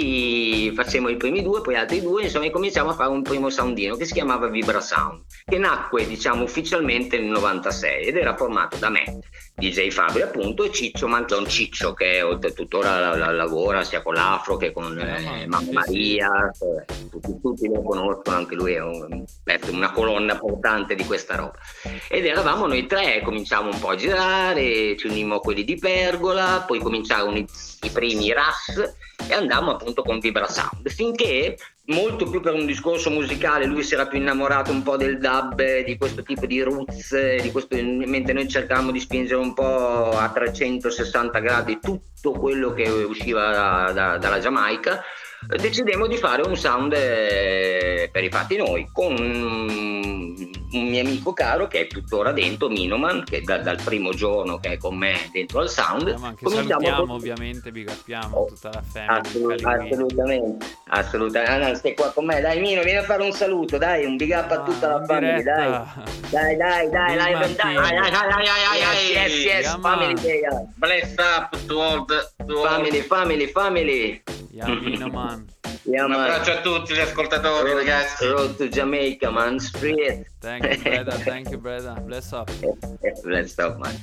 lì facemmo i primi due, poi altri due, insomma, e cominciamo a fare un primo soundino che si chiamava Vibra Sound, che nacque, diciamo, ufficialmente nel novantasei ed era formato da me, D J Fabri appunto, e Ciccio Manzon Ciccio, che tuttora la, la, lavora sia con l'Afro che con eh, eh, Mamma Maria, eh, tutti, tutti lo conoscono, anche lui è un, una colonna portante di questa roba. Ed eravamo noi tre, cominciamo un po' a girare, ci unimmo a quelli di Pergola, poi cominciarono i, i primi Ras e andammo appunto con Vibra Sound, finché, molto più per un discorso musicale, lui si era più innamorato un po' del dub, di questo tipo di roots, di questo, mentre noi cercavamo di spingere un po' a trecentosessanta gradi tutto quello che usciva da, da, dalla Giamaica, decidemmo di fare un sound eh, per i fatti noi, con un, un mio amico caro che è tuttora dentro, Minoman, che da, dal primo giorno che è con me dentro al sound. Eh, ma anche salutiamo con... ovviamente, big uppiamo oh, tutta la famiglia. Assolut- assolutamente, assolutamente. Ah, stai qua con me, dai Mino, vieni a fare un saluto, dai, un big up a tutta ah, la famiglia, dai. Dai, dai, dai, dai, dai, dai, dai, dai, yes, yes, family day. Bless up to all the to family, family, family. Yeah, Mino, man. Yeah, un abbraccio a tutti gli ascoltatori, road, ragazzi. Road to Jamaica, man. Street. Thank you, brother. Thank you, brother. Bless up. Bless up, man.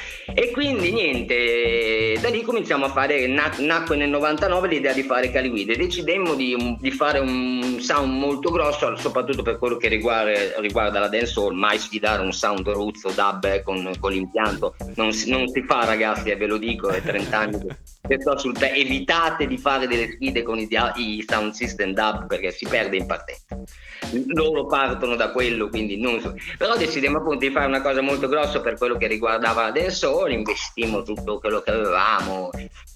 E quindi niente, da lì cominciamo a fare, nac- nacque nel novantanove l'idea di fare Caliguide. Decidemmo di, di fare un sound molto grosso, soprattutto per quello che riguarda, riguarda la dancehall, mai sfidare un sound roots o dub eh, con, con l'impianto. Non si, non si fa, ragazzi, eh, ve lo dico, è trenta anni che sto sul te- evitate di fare delle sfide con i, i sound system dub perché si perde in partenza. Loro partono da quello, quindi non so. Però decidemmo appunto di fare una cosa molto grossa per quello che riguardava la dancehall, investimmo tutto quello che avevamo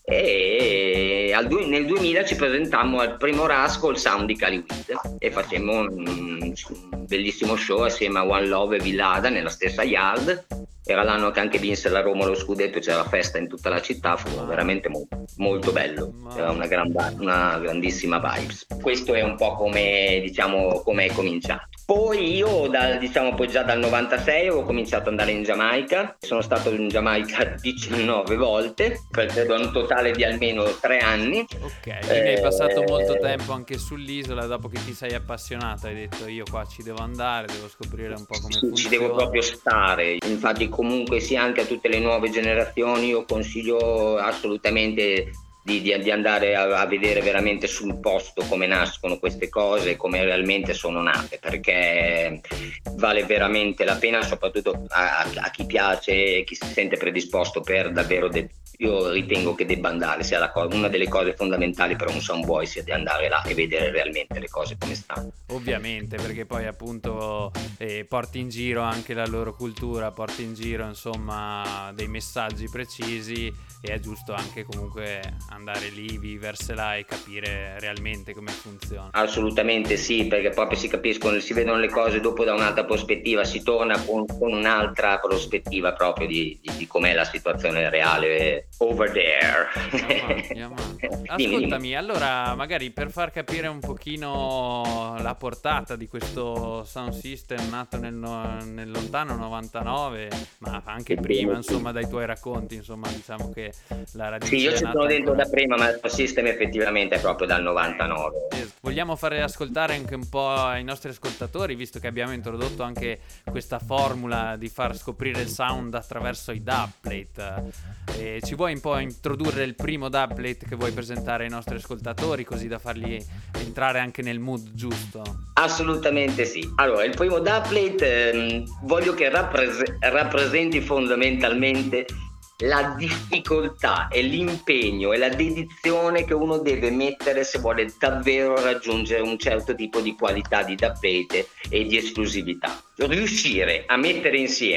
e al du- nel duemila ci presentammo al primo Ras col sound di Caliwid e facemmo un, un bellissimo show assieme a One Love e Villada nella stessa yard. Era l'anno che anche vinse la Roma lo scudetto, c'era festa in tutta la città, fu veramente molto, molto bello, era una, gran, una grandissima vibes. Questo è un po' come, diciamo, come è cominciato. Poi io dal, diciamo poi già dal novantasei ho cominciato ad andare in Giamaica, sono stato in Giamaica diciannove volte, credo un totale di almeno tre anni. Ok, quindi eh, hai passato molto tempo anche sull'isola, dopo che ti sei appassionato hai detto io qua ci devo andare, devo scoprire un po' come sì, funziona. Ci devo proprio stare, infatti comunque sia anche a tutte le nuove generazioni io consiglio assolutamente Di, di, di andare a, a vedere veramente sul posto come nascono queste cose, come realmente sono nate, perché vale veramente la pena, soprattutto a, a chi piace, chi si sente predisposto per davvero de- io ritengo che debba andare, sia la co- una delle cose fondamentali per un soundboy sia di andare là e vedere realmente le cose come stanno. Ovviamente, perché poi appunto eh, porti in giro anche la loro cultura, porti in giro insomma dei messaggi precisi e è giusto anche comunque andare lì, viversela e capire realmente come funziona. Assolutamente sì, perché proprio si capiscono, si vedono le cose dopo da un'altra prospettiva, si torna con, con un'altra prospettiva proprio di, di, di com'è la situazione reale over there. Yeah, man, yeah, man. Ascoltami, allora magari per far capire un pochino la portata di questo sound system nato nel, nel lontano novantanove, ma anche prima insomma dai tuoi racconti, insomma diciamo che la radice sì, io ci sono dentro ancora... da prima, ma il system effettivamente è proprio dal novantanove. Eh, vogliamo fare ascoltare anche un po' ai nostri ascoltatori, visto che abbiamo introdotto anche questa formula di far scoprire il sound attraverso i dubplate. Eh, ci vuoi un po' introdurre il primo dubplate che vuoi presentare ai nostri ascoltatori, così da farli entrare anche nel mood giusto? Assolutamente sì. Allora, il primo dubplate ehm, voglio che rappres- rappresenti fondamentalmente la difficoltà e l'impegno e la dedizione che uno deve mettere se vuole davvero raggiungere un certo tipo di qualità di dubplate e di esclusività. Riuscire a mettere insieme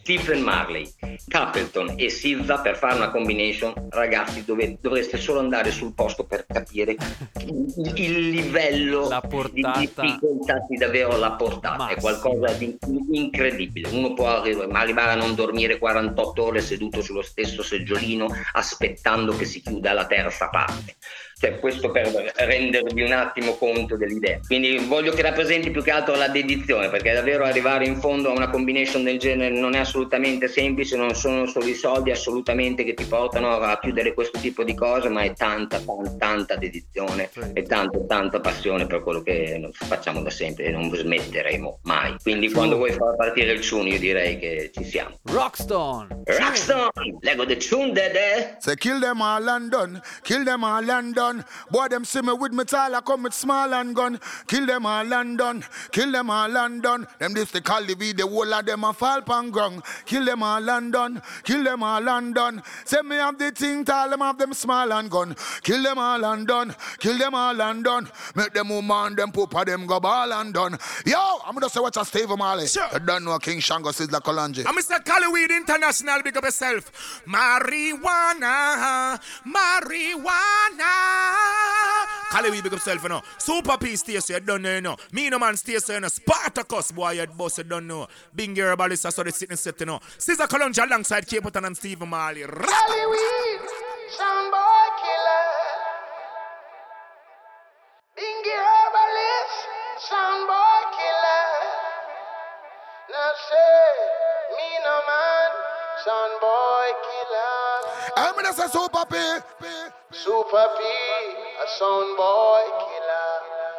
Stephen Marley, Capleton e S Z A per fare una combination, ragazzi, dove dovreste solo andare sul posto per capire il livello la portata, di difficoltà, di davvero la portata, massima. È qualcosa di incredibile. Uno può arri- arrivare a non dormire quarantotto ore seduto sullo stesso seggiolino aspettando che si chiuda la terza parte. Cioè, questo per rendervi un attimo conto dell'idea. Quindi voglio che rappresenti più che altro la dedizione, perché davvero arrivare in fondo a una combination del genere non è assolutamente semplice, non sono solo i soldi assolutamente che ti portano a chiudere questo tipo di cose, ma è tanta, tanta, tanta dedizione e tanta, tanta passione per quello che facciamo da sempre e non smetteremo mai. Quindi quando vuoi far partire il tune io direi che ci siamo. Rockstone! Rockstone! Lego the tune, dede! Say kill them all and done, kill them all and done. Boy, them see me with me tall, I come with small and gun. Kill them all and done, kill them all and done. Them this the call the the whole of them a fall pan ground. Kill them all and done, kill them all and done. Say me have the thing, tall them have them small and gun. Kill them all and done, kill them all and done. Make them woman, them poopa, them go ball and done. Yo, I'm gonna say what a Steve Marley. Sure. You don't know King Shango says la Colanje. I'm Mister Calloway International, big up yourself. Marijuana, marijuana. Calloway, big up yourself, you know. Super P station, you don't know, you know. Me no man station, you know. Spartacus, boy, you boss, you don't know. Bingy herbalist, that's what they sitting set, you know. Caesar Colonge alongside Capleton and Steve Marley. Calloway, soundboy killer. Bingy herbalist, soundboy killer. Now say, me no man, soundboy killer. I'm gonna say Super P. Super P, a soundboy killer.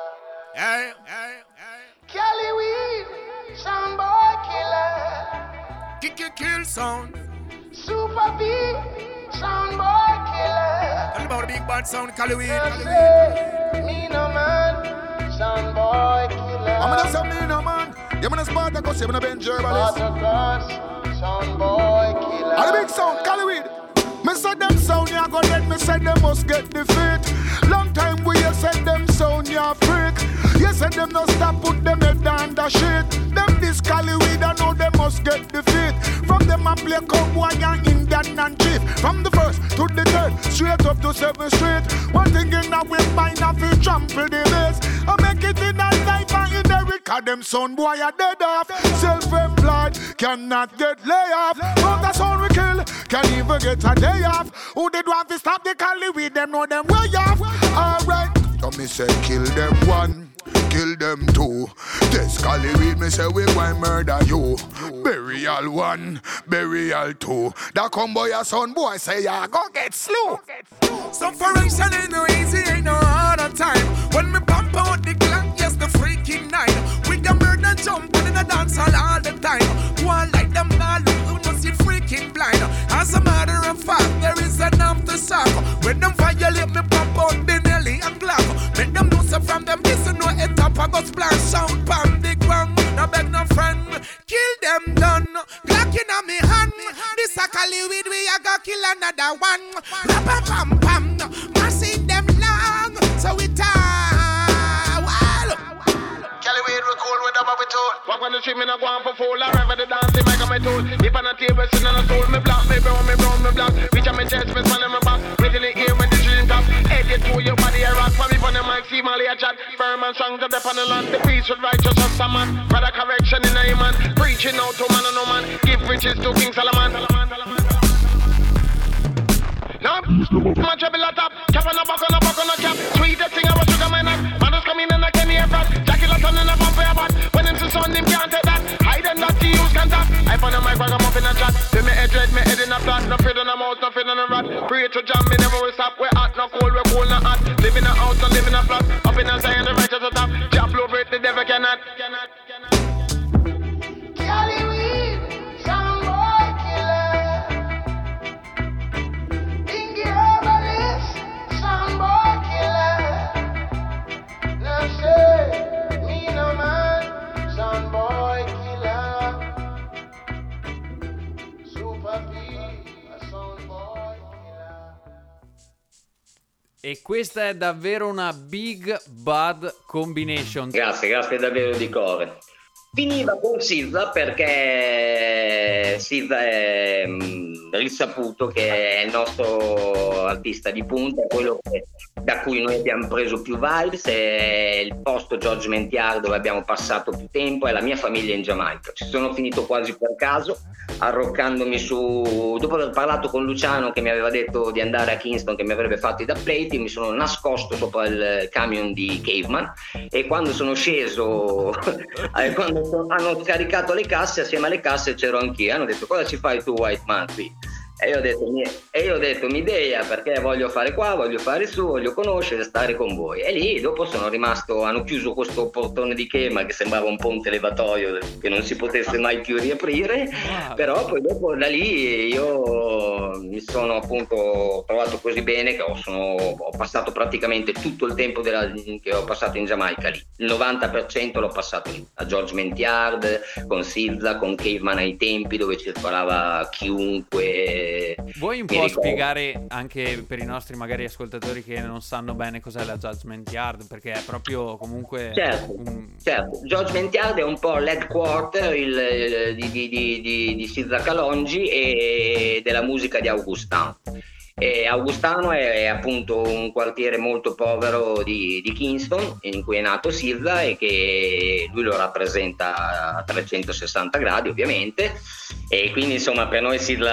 Hey, hey, hey. Calloway, soundboy killer. Kick, kick, kill sound. Super P, soundboy killer. Tell about the big bad sound, Calloway. Now say, me no man, soundboy killer. I'm gonna say me no man. You gonna Spartacus, you gonna Benji herbalist. Spartacus, soundboy killer. And the big sound, Calloway. Me said them sound ya go dead, me said them must get defeat. Long time we you said them sound ya freak. You said them no stop, put them head down the shit. Them this Calloway, I know them must get defeat. From them a play cowboy and Indian and chief. From the first to the third, straight up to seventh street. One thing in a way, mine a fi trample the base. I make it in a life and in the record. Them son boy a dead off. Self-employed, cannot get lay off. But the sound we kill, can even get a day off. Who did want to stop the Calloway? Them know them way off. Alright, so me say kill them one, kill them two. This Calloway me say we going murder you. Burial one, burial two. That come boy a son boy say ya go get slew. Some foundation ain't no easy, ain't no harder time. When me pump out the clock, yes the freaking night. We can murder jump in the dance hall all the time. One like them now look, must see freaking blind. As a matter of fact, there is an aftershock. When them violate me pump out the Nelly and Glock. Make them know so from them this no head up I go splash sound pan the ground. No beg no friend, kill them done. Glock in a me hand. This a Calloway we a go kill another one. Rapa pam pam, mashing them long. So we tie. Well, Calloway record with them we told. Walk on the street, me not go on for fool. I rev the dance, the mic on my tool. If on a table, sitting on a stool, me black, me brown, me brown, me black. Reach on my chest, me span in my back. Wait till the ear when the dream top. Head it to your body, I rock. For me, on the mic, see Molly a chat. Firm and strong to the on the land. The peace with righteous as a man. Brother correction in a man. Preaching out to man and no man. Give riches to King Solomon. Now, my trouble a top. Cap on a buck on a buck on a cap. Sweetest thing I was sugar my knock. Man just come in and I can hear that. Jackie Lawson in a bump for your butt. When him see son, him can't take that. Hide and not to use contact. I found a mic, I'm up in a chat. Say me head red, me head in a flat. No fear on a mouse, no fear on a rat. Pray to jam, me never will stop. We're hot, no cold, we're cool, no hot. Live in a house, no live in a flat. Up in a Zion, the righteous at top. Jab over it, the devil cannot. Cannot, cannot. Calloway, soundboy killer. Bingy herbalist, soundboy killer. Now say, me no man, soundboy killer. Super P, a soundboy killer. E questa è davvero una big bad combination. Grazie, grazie davvero di cuore. Finiva con S Z A perché S Z A è mh, risaputo che è il nostro artista di punta, è quello che, da cui noi abbiamo preso più vibes, è il posto Judgment Yard dove abbiamo passato più tempo, è la mia famiglia in Giamaica. Ci sono finito quasi per caso, arroccandomi su, dopo aver parlato con Luciano che mi aveva detto di andare a Kingston, che mi avrebbe fatto i da plate, mi sono nascosto sopra il camion di Caveman, e quando sono sceso quando hanno scaricato le casse, assieme alle casse c'ero anch'io, hanno detto: cosa ci fai tu, White Man, qui? E io ho detto, e io ho detto mi idea, perché voglio fare qua, voglio fare su, voglio conoscere, stare con voi. E lì dopo sono rimasto, hanno chiuso questo portone di Chema che sembrava un ponte levatoio che non si potesse mai più riaprire, wow. Però poi dopo da lì io mi sono appunto trovato così bene che ho, sono, ho passato praticamente tutto il tempo della, che ho passato in Giamaica lì. Il novanta per cento l'ho passato lì, a Judgment Yard, con S Z A, con Caveman ai tempi, dove circolava chiunque. Vuoi un po' ricordo. Spiegare anche per i nostri magari ascoltatori che non sanno bene cos'è la Judgment Yard, perché è proprio comunque certo, un... certo. Judgment Yard è un po' l'headquarter il, di, di, di, di, di S Z A Kalonji e della musica di Augustano. E Augustano è, è appunto un quartiere molto povero di, di Kingston, in cui è nato S Z A, e che lui lo rappresenta a trecentosessanta gradi ovviamente, e quindi insomma per noi S Z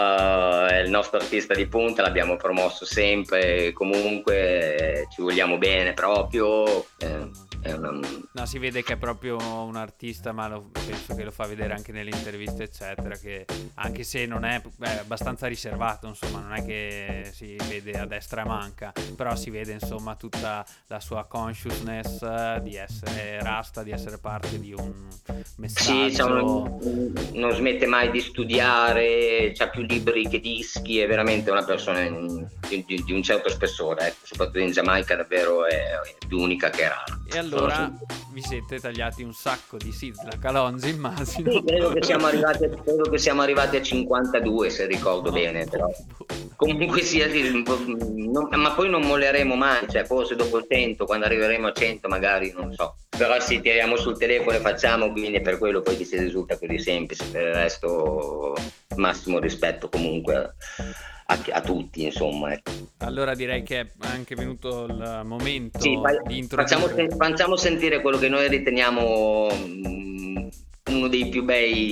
A è il nostro artista di punta, l'abbiamo promosso sempre, comunque ci vogliamo bene proprio. Eh. Una... No, si vede che è proprio un artista, ma lo, penso che lo fa vedere anche nelle interviste eccetera, che anche se non è, è abbastanza riservato, insomma, non è che si vede a destra e manca, però si vede insomma tutta la sua consciousness di essere rasta, di essere parte di un messaggio. Sì, insomma, non smette mai di studiare, c'ha più libri che dischi, è veramente una persona di, di, di un certo spessore, ecco, soprattutto in Giamaica davvero è, è più unica che rara. E allora vi siete tagliati un sacco di S Z A Kalonji, immagino. Sì, credo che siamo arrivati, credo che siamo arrivati a cinquantadue, se ricordo no, bene, però. Comunque sia, non, ma poi non molleremo mai, cioè forse dopo il cento, quando arriveremo a cento magari, non so. Però sì, tiriamo sul telefono e facciamo, quindi è per quello poi che si risulta così semplice. Per il resto massimo rispetto comunque a, a tutti, insomma. Ecco. Allora direi che è anche venuto il momento sì, fai, di introdurre. Facciamo, facciamo sentire quello che noi riteniamo mh, uno dei più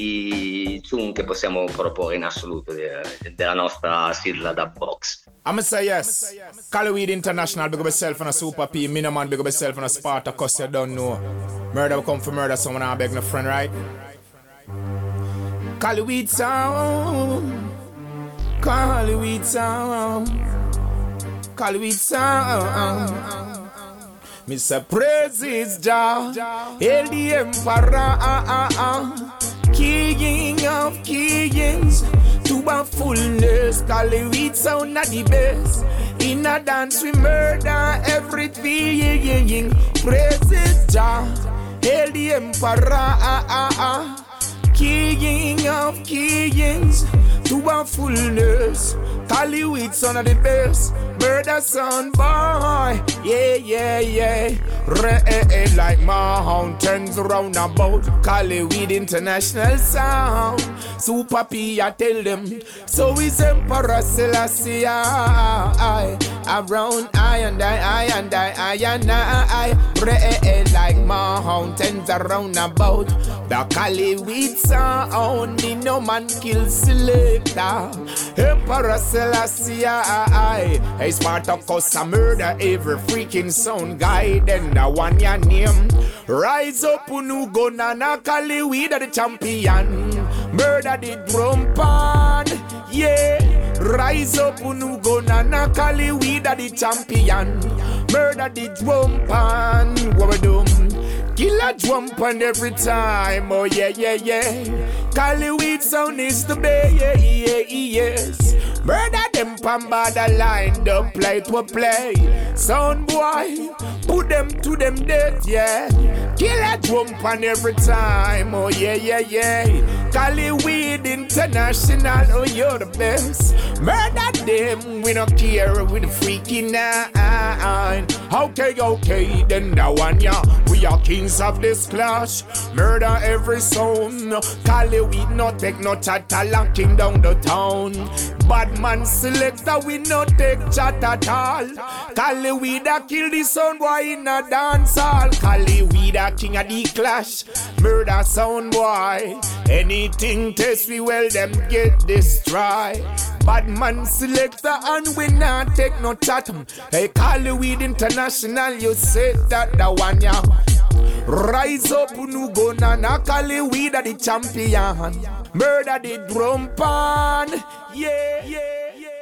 bei tune che possiamo proporre in assoluto de, de, della nostra S Z A Dub Box. I'ma say yes. Caliweed International, big up yourself on a Super P. Miniman, big up yourself on a Sparta, cause you don't know. Murder will come for murder, so I beg no friend, right? Caliweed sound. Caliweed sound. Caliweed sound. Mister Praises Jah, hail the Emperor, King of Kings. To a fullness, Caliweed sound at the best. In a dance we murder everything. Praises Jah, hail the Emperor, King of Kings. To a fullness, Caliweed sound at the best. Murder sound boy, yeah, yeah, yeah. Red like mountains round about. Caliweed International sound. Super P, I tell them. So is Emperor Selassie I. Around I and I, I and I, I and I. Red like mountains around about. The Caliweed sound, no man kills selector. Emperor Selassie I. Hey, Spartacus a murder every freaking sound guy. Then the one ya name. Rise up, unu go nana Caliweed the champion. Murder the drum pan, yeah. Rise up, unu go nana Caliweed the champion. Murder the drum pan, what we do? Kill a drum pan every time, oh yeah, yeah, yeah. Caliweed sound is the bay, yeah, yeah, yes. Murder them pan borderline, don't play to play. Sound boy, put them to them death, yeah. Kill a drum pan every time, oh yeah, yeah, yeah. Caliweed International, oh you're the best. Murder them, we don't care with the freaking nine. Okay, okay, then the one, yeah. We we are kings of this clash. Murder every sound. Cali we no take no chatter, locking down the town. Bad man selector, we no take chat at all. Cali we da kill the sound boy in a dance hall. Cali we da king of the clash. Murder sound boy. Anything test we well them get destroyed. Bad man selector and we not take no chat. Hey, Cali weed international, you said that the one ya. Rise up, nu go na na Cali weed are the champion. Murder the drum pan. Yeah, yeah, yeah.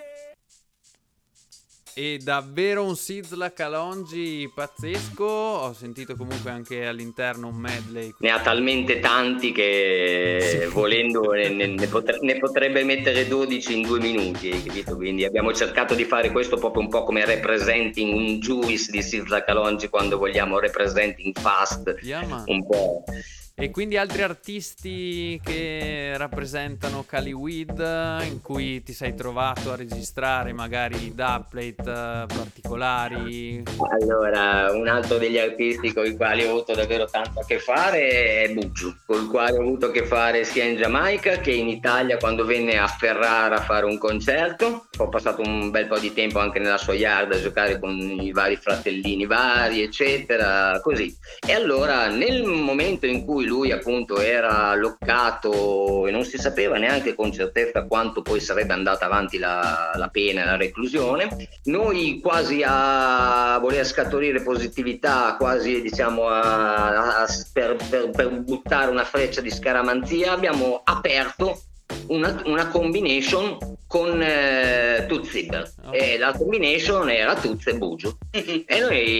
E davvero un Sizzla Kalonji pazzesco. Ho sentito comunque anche all'interno un medley. Ne ha talmente tanti che sì. volendo ne, ne, potre, ne potrebbe mettere dodici in due minuti, hai capito? Quindi abbiamo cercato di fare questo proprio un po' come representing un Juice di Sizzla Kalonji quando vogliamo representing fast, yeah, un po'. E quindi altri artisti che rappresentano Cali Weed in cui ti sei trovato a registrare magari dubplate uh, particolari? Allora, un altro degli artisti con i quali ho avuto davvero tanto a che fare è Buju, con il quale ho avuto a che fare sia in Giamaica che in Italia quando venne a Ferrara a fare un concerto. Ho passato un bel po' di tempo anche nella sua yard a giocare con i vari fratellini vari, eccetera, così. E allora, nel momento in cui lui appunto era loccato e non si sapeva neanche con certezza quanto poi sarebbe andata avanti la, la pena, la reclusione, noi quasi a voler scaturire positività, quasi diciamo a, a, per, per, per buttare una freccia di scaramanzia, abbiamo aperto Una, una combination con eh, Toots Zipper, oh. E la combination era Toots e Buju e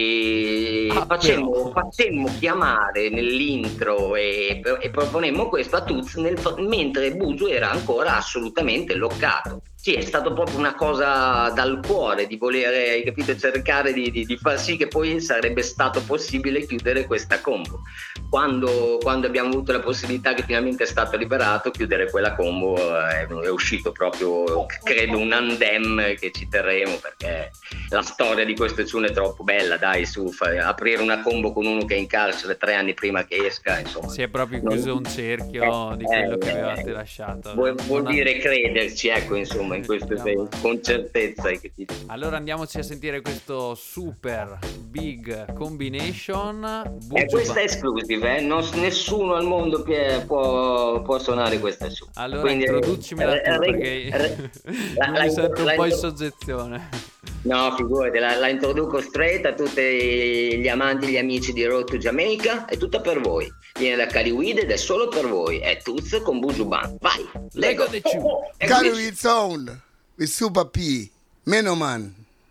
noi ah, facemmo, facemmo chiamare nell'intro e, e proponemmo questo a Toots nel, mentre Buju era ancora assolutamente loccato. Sì, è stato proprio una cosa dal cuore di volere, hai capito, cercare di, di, di far sì che poi sarebbe stato possibile chiudere questa combo. Quando, quando abbiamo avuto la possibilità, che finalmente è stato liberato, chiudere quella combo è, è uscito proprio, credo, un andem che ci terremo, perché la storia di questo tune è troppo bella, dai, su, fare, aprire una combo con uno che è in carcere tre anni prima che esca, insomma. Si è proprio chiuso non... un cerchio eh, di quello eh, che avevate eh, lasciato. Vuol, vuol non dire ha... crederci, ecco, insomma, in questo senso, con certezza. Allora andiamoci a sentire questo super big combination. Buju e questa è exclusive, eh? non, nessuno al mondo può, può suonare questa su. Allora quindi introducimela tu, perché re, la, mi la, sento un la, po' la, in soggezione. No, figurati, la, la introduco straight a tutti gli amanti, gli amici di Road to Jamaica. È tutta per voi. Viene da Cali Weed ed è solo per voi. È Toots con Buju Band. Vai, Lego. Cali Weed Sound with Super P, Menoman,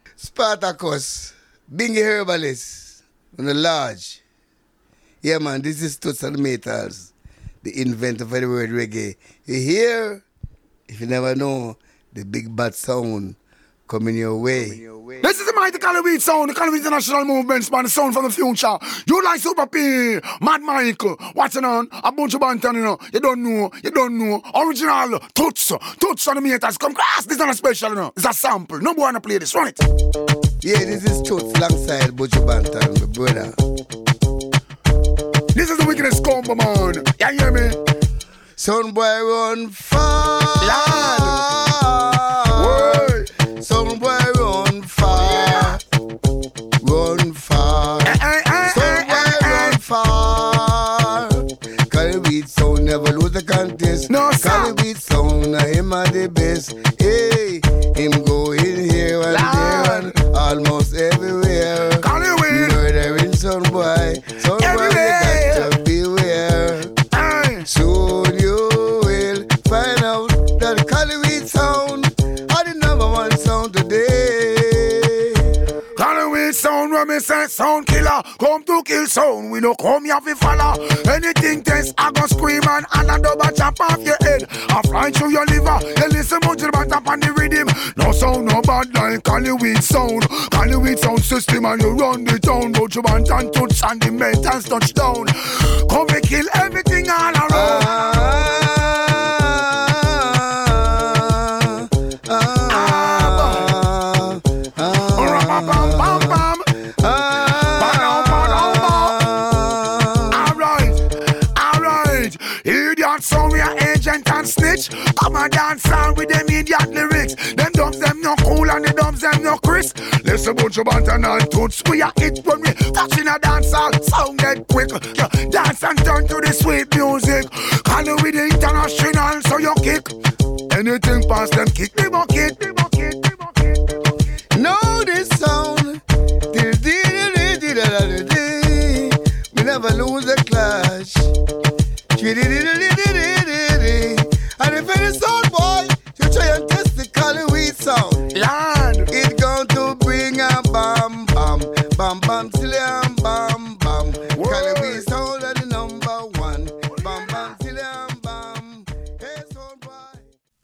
Spartacus, Bingy Herbalist, and the Large. Yeah, man, this is Toots and Metals, the inventor for the word reggae. You hear? If you never know, the big bad sound coming your way. Coming your way. This is the mighty Cali Weed Sound, the Cali Weed International Movement, man, the sound from the future. You like Super P, Mad Michael, what's on? A bunch of bantan, you know. You don't know, you don't know. Original, Toots, Toots on the meters. Come class, this is not a special, you know. It's a sample. No boy wanna play this, run it. Yeah, this is Toots alongside Buju Banton, my brother. This is the wickedest combo, man. You hear me? Sound boy run far. Lord. Sound boy run far, run far. Sound boy run far. Cali Weed Sound never lose the contest. No, sir. Cali Weed Sound, him are the best. Hey, him go in here and there and almost everywhere. Cali Weed murdering sound boy, sound boy you got to beware. Aye. Soon you will find out that Cali Weed Sound are the number one sound today. Cali Weed Sound, when me say sound killer, come to kill sound. We no come here fi follow. Anything test, I go scream and and a double chop off your head. I fly through your liver. You listen much to the band up on the rhythm. No sound, no bad like Cali Weed Sound. Cali Weed Sound system and you run the town. But you want and touch and the mentals touch down. Come and kill everything all around. Ah. rich. Come and dance on with them idiot lyrics. Them dubs them no cool and the dubs them no crisp. Listen bunch of bantan and toots. We a hit when we touch in a dance hall. Sound get quick. Yeah, dance and turn to the sweet music. Call it with the international so you kick. Anything past them kick. They won't kick. They won't kick. They won't kick. They won't kick. Know this sound. We never lose a clash. And if any sound boy, you try and test the Cali-Weed sound, Lord, it's going to bring a bam bam, bam bam tilliam bam bam. Cali-Weed sound are the number one, bam bam tilliam bam. Hey sound boy.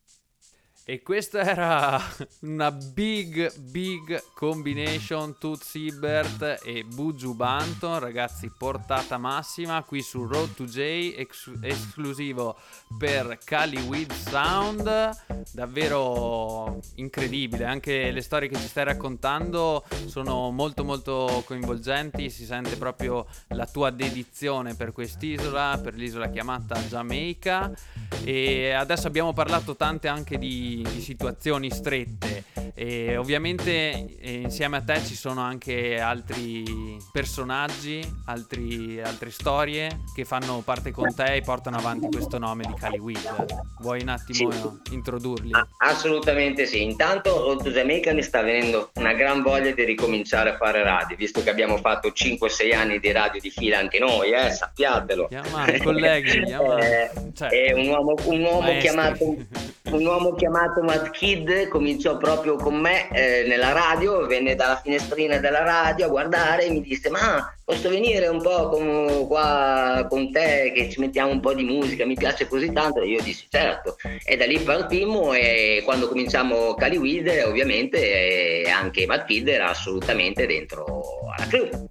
E questa era una big big combination, Toots Hibbert e Buju Banton, ragazzi, portata massima qui su Road to J, ex- esclusivo per Cali-Weed Sound, davvero incredibile. Anche le storie che ci stai raccontando sono molto molto coinvolgenti, si sente proprio la tua dedizione per quest'isola, per l'isola chiamata Giamaica. E adesso abbiamo parlato tante anche di, di situazioni strette e ovviamente eh, insieme a te ci sono anche altri personaggi, altri, altre storie che fanno parte con te e portano avanti questo nome di Cali-Weed. Vuoi un attimo sì. introdurli? Ah, assolutamente sì. Intanto Road to Jamaica mi sta venendo una gran voglia di ricominciare a fare radio, visto che abbiamo fatto cinque sei anni di radio di fila anche noi, eh, sappiatelo. Chiama, colleghi, chiama. eh, cioè, è un uomo, un uomo chiamato un uomo chiamato Matt Kid cominciò proprio con me eh, nella radio, venne dalla finestrina della radio a guardare e mi disse: ma posso venire un po' con, qua con te che ci mettiamo un po' di musica, mi piace così tanto. E io dissi certo, e da lì partimmo e quando cominciamo Cali-Weed ovviamente eh, anche Matt Kid era assolutamente dentro alla crew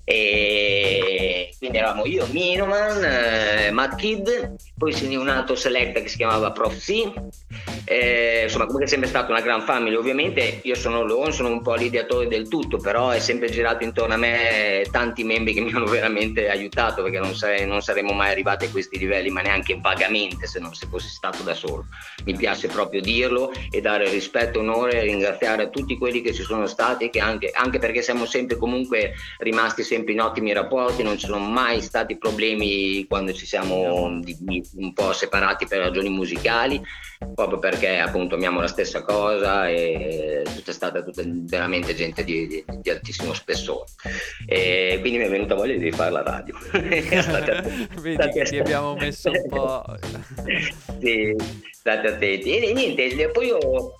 e quindi eravamo io, Minoman, eh, Matt Kid, poi se ne è un altro selecta che si chiamava Prof C. Eh, insomma, comunque è sempre stata una gran family. Ovviamente io sono Lone, sono un po' l'ideatore del tutto, però è sempre girato intorno a me tanti membri che mi hanno veramente aiutato, perché non, sare- non saremmo mai arrivati a questi livelli, ma neanche vagamente se non se fossi stato da solo. Mi piace proprio dirlo e dare rispetto, onore e ringraziare a tutti quelli che ci sono stati, che anche, anche perché siamo sempre comunque rimasti sempre in ottimi rapporti, non ci sono mai stati problemi quando ci siamo di, di, un po' separati per ragioni musicali, proprio perché appunto amiamo la stessa cosa e tutta è stata tutta veramente gente di, di, di altissimo spessore e quindi mi è venuta voglia di fare la radio. state, Vedi state, che ti abbiamo messo un po'. sì, state attenti e niente, poi io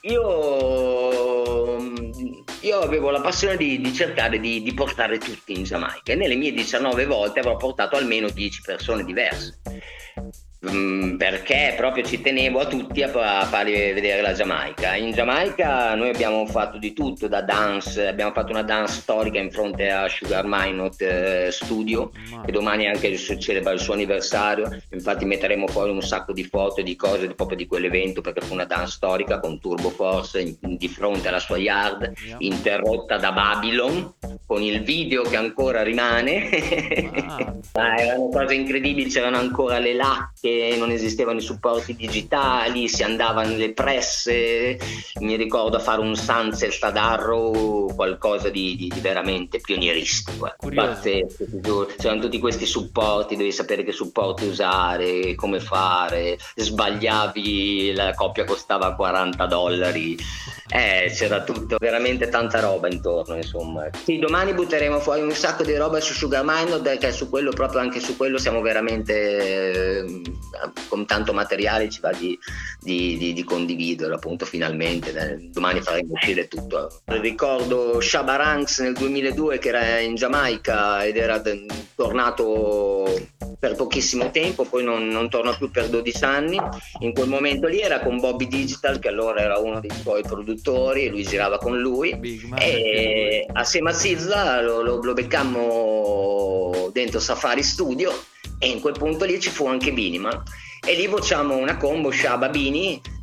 io io avevo la passione di, di cercare di, di portare tutti in Giamaica e nelle mie diciannove volte avrò portato almeno dieci persone diverse. Mm, perché proprio ci tenevo a tutti a, a farli vedere la Giamaica. In Giamaica noi abbiamo fatto di tutto, da dance, abbiamo fatto una dance storica in fronte a Sugar Minot eh, Studio wow. E domani anche si celebra il suo anniversario, infatti metteremo fuori un sacco di foto e di cose proprio di quell'evento, perché fu una dance storica con Turbo Force in, in, di fronte alla sua yard yeah. Interrotta da Babylon con il video che ancora rimane wow. ah, erano cose incredibili, c'erano ancora le latte, non esistevano i supporti digitali, si andava nelle presse, mi ricordo a fare un Sunset ad Arrow, qualcosa di, di, di veramente pionieristico, pazzesco, c'erano tutti questi supporti, devi sapere che supporti usare, come fare, sbagliavi, la coppia costava quaranta dollari, eh, c'era tutto, veramente tanta roba intorno, insomma. Sì, domani butteremo fuori un sacco di roba su Sugar Minot, perché su quello, proprio anche su quello siamo veramente eh, con tanto materiale, ci va di, di, di, di condividerlo appunto finalmente. Domani faremo uscire tutto. Ricordo Shabba Ranks nel duemiladue che era in Giamaica ed era tornato per pochissimo tempo, poi non, non torna più per dodici anni. In quel momento lì era con Bobby Digital, che allora era uno dei suoi produttori, e lui girava con lui e assieme a Sizla lo, lo, lo beccammo dentro Safari Studio e in quel punto lì ci fu anche Biniman e lì bocciamo una combo Shabba Bini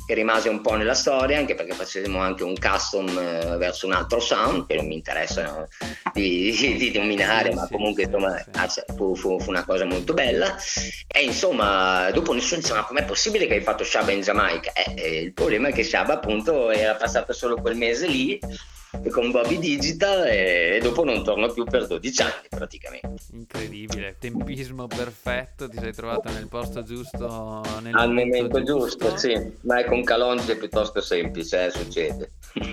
che rimase un po' nella storia, anche perché facevamo anche un custom eh, verso un altro sound che non mi interessa no, di, di, di dominare, ma comunque insomma fu, fu, fu una cosa molto bella. E insomma dopo nessuno diceva: ma com'è possibile che hai fatto Shabba in Giamaica? Eh, eh, il problema è che Shabba appunto era passato solo quel mese lì con Bobby Digital e, e dopo non torno più per dodici anni praticamente. Incredibile, tempismo perfetto, ti sei trovato nel posto giusto nel al momento, momento giusto, giusto, sì, ma è con Calonge è piuttosto semplice, eh, succede.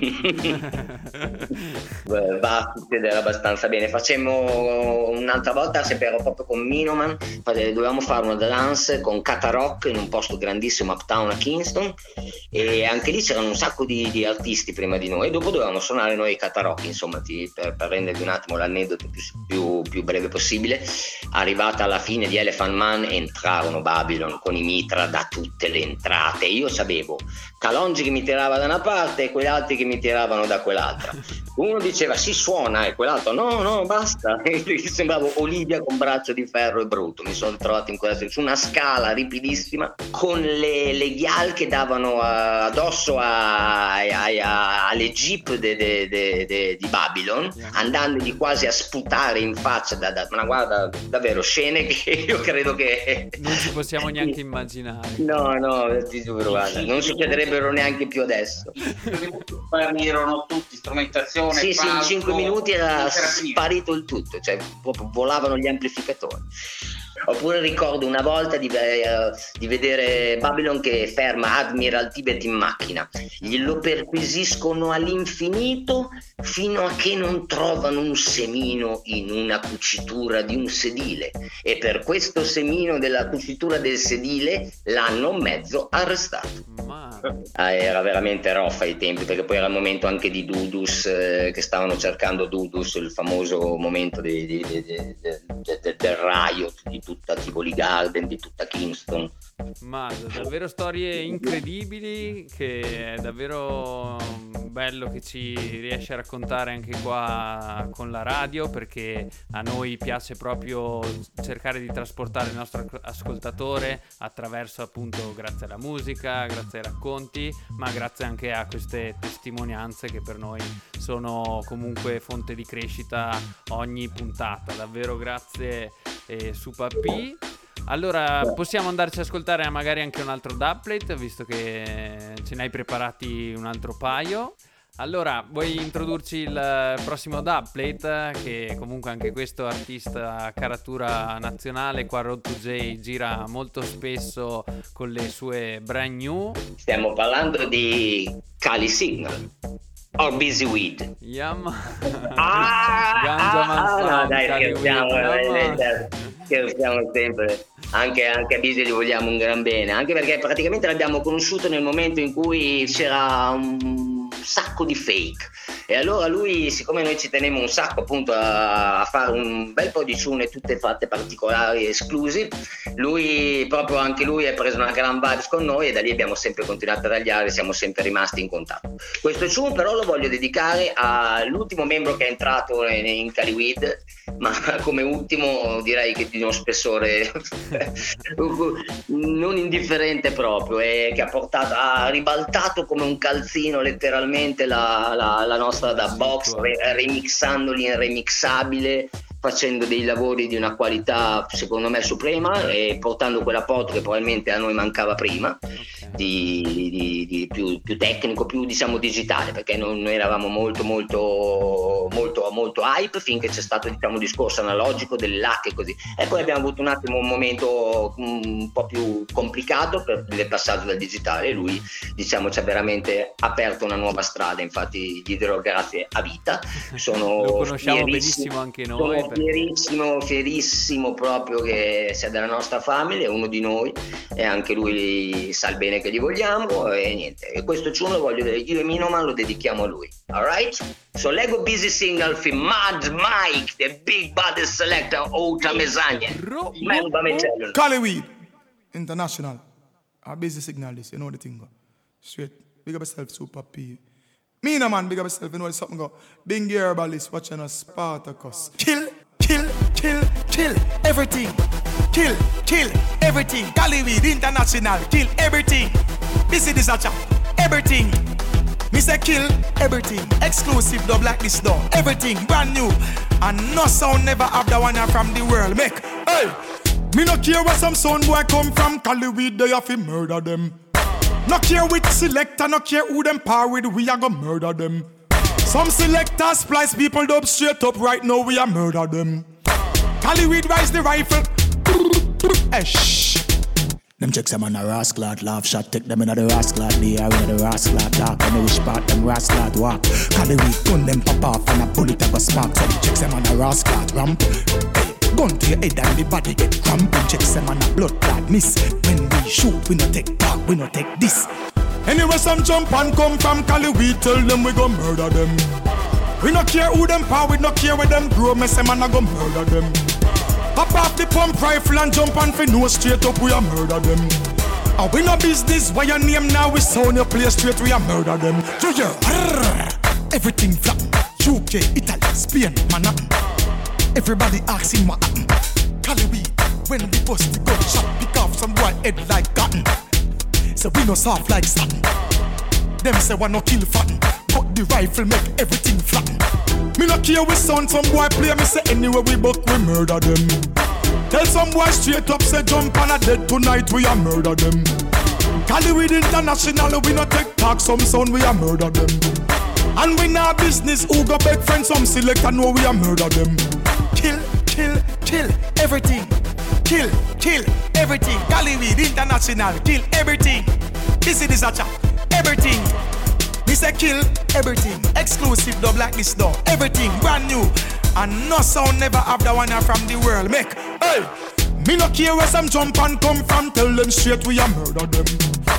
Beh, va a succedere abbastanza bene. Facemmo un'altra volta, sempre ero proprio con Minoman, dovevamo fare una dance con Kata Rock in un posto grandissimo uptown a Kingston, e anche lì c'erano un sacco di, di artisti prima di noi, e dopo dovevamo suonare noi Kata Rock, insomma, ti, per, per rendervi un attimo l'aneddoto più, più, più breve possibile. Arrivata alla fine di Elephant Man entrarono Babylon con i mitra da tutte le entrate. Io sapevo Calongi che mi tirava da una parte e quegli altri che mi tiravano da quell'altra. Uno diceva si suona e quell'altro no no basta. E sembravo Olivia con braccio di ferro e brutto. Mi sono trovato in quella su una scala ripidissima con le, le ghial che davano a, addosso a, a, a, alle jeep de, de, de, de, di Babylon, andandogli quasi a sputare in faccia da, da, ma guarda, davvero scene che io credo che non ci possiamo neanche immaginare. No no ti giuro, guarda, non succederebbero neanche più adesso. Erano tutti strumentazione. Sì, sì, in cinque minuti era era sparito il tutto, cioè proprio volavano gli amplificatori. Oppure ricordo una volta di, eh, di vedere Babylon che ferma Admiral Tibet in macchina, glielo perquisiscono all'infinito fino a che non trovano un semino in una cucitura di un sedile, e per questo semino della cucitura del sedile l'hanno mezzo arrestato. Ah, era veramente roffa ai tempi, perché poi era il momento anche di Dudus, eh, che stavano cercando Dudus, il famoso momento di, di, di, di, di, di, del riot di tutta Tivoli Garden, di tutta Kingston. Ma davvero storie incredibili, che è davvero bello che ci riesci a raccontare anche qua con la radio, perché a noi piace proprio cercare di trasportare il nostro ascoltatore attraverso, appunto, grazie alla musica, grazie ai racconti, ma grazie anche a queste testimonianze che per noi sono comunque fonte di crescita ogni puntata. Davvero grazie, eh, Super P. Allora possiamo andarci ad ascoltare magari anche un altro dubplate, visto che ce ne hai preparati un altro paio. Allora, vuoi introdurci il prossimo dubplate, che comunque anche questo artista caratura nazionale, qua Road to J gira molto spesso con le sue brand new. Stiamo parlando di Cali Signal or Busy Weed. Yum. Ah, Ganja ah, Manfan, no, dai, Cali scherziamo, Weed, eh, scherziamo sempre. Anche, anche a Busy gli vogliamo un gran bene, anche perché praticamente l'abbiamo conosciuto nel momento in cui c'era un sacco di fake, e allora lui, siccome noi ci tenemmo un sacco appunto a, a fare un bel po' di tune tutte fatte particolari, esclusive, lui proprio anche lui ha preso una gran vibes con noi, e da lì abbiamo sempre continuato a tagliare, siamo sempre rimasti in contatto. Questo tune però lo voglio dedicare all'ultimo membro che è entrato in, in Cali Weed, ma come ultimo direi che di uno spessore non indifferente proprio, e che ha portato, ha ribaltato come un calzino letteralmente la, la, la nostra da box, re, remixandoli in remixabile, facendo dei lavori di una qualità secondo me suprema, e portando quell'apporto che probabilmente a noi mancava prima, di, di, di più, più tecnico, più diciamo digitale, perché non, noi eravamo molto molto molto molto hype finché c'è stato diciamo un discorso analogico delle lacche e così, e poi abbiamo avuto un attimo un momento un po' più complicato per il passaggio dal digitale, e lui diciamo ci ha veramente aperto una nuova strada. Infatti gli dirò grazie a vita, sono lo conosciamo benissimo anche noi, sono fierissimo fierissimo proprio che sia della nostra famiglia, è uno di noi, e anche lui sa il bene che gli vogliamo, e niente, e questo tune lo voglio, io e Minoman lo dedichiamo a lui. Alright? So Lego Busy Signal fi Mad Mike, the big body selector, Outa Mezzagna. Melba Mecello. Cali Weed International. A Busy Signal this, you know the thing go. Straight. Big up yourself, Super P. Me no man, big up yourself, you know something go. Bing Herbalist watching us, Spartacus. Kill, kill, kill, kill everything. Kill, kill everything. Cali Weed International, kill everything. This is a chap. Everything. Me say kill everything. Exclusive dub like this though. Everything brand new. And no sound never have the one from the world. Make, hey. Me no care where some sound boy come from. Cali weed they have to murder them. No care which selector, no care who them par with. We are gonna murder them. Some selectors splice people dub straight up. Right now we are murder them. Cali weed rise the rifle. Hey, shh. Them checks them on a rascal laugh shot. Take them in the rascal the air in the rascal dark. And which part them rascal walk. Cali weed gun them pop off and a bullet a go spark. So them checks them on a rascal ramp. Hey, gun to your head and the body get cramp. Them checks them on a blood clot miss. When we shoot we no take talk, we no take this. Anyway some jump and come from Cali weed. Tell them we go murder them. We no care who them power, we no care where them grow. Me say man I go murder them. Pop off the pump rifle and jump on for no straight up, we a murder them. And we no business, why your name now we sound your play straight, we a murder them. So yeah, everything flat. U K, Italy, Spain, Manhattan. Everybody asking what happen. Cali weed, when we bust the gunshot, pick off some boy head like cotton. So we no soft like satin. Them say we no kill fatten, but the rifle make everything flatten. Me no care we sound some boy play. Me say anywhere we buck we murder them. Tell some boy straight up say jump on a dead tonight we a murder them. Cali weed international we no take talk. Some sound we a murder them. And we nah business who go beg friends. Some select and know we a murder them. Kill, kill, kill everything. Kill, kill everything. Cali weed international kill everything. This is a chat. Everything. Me say kill everything. Exclusive dub like this though. Everything brand new. And no sound never have the one from the world. Make, hey. Me no care where some jump and come from. Tell them straight we a murder them.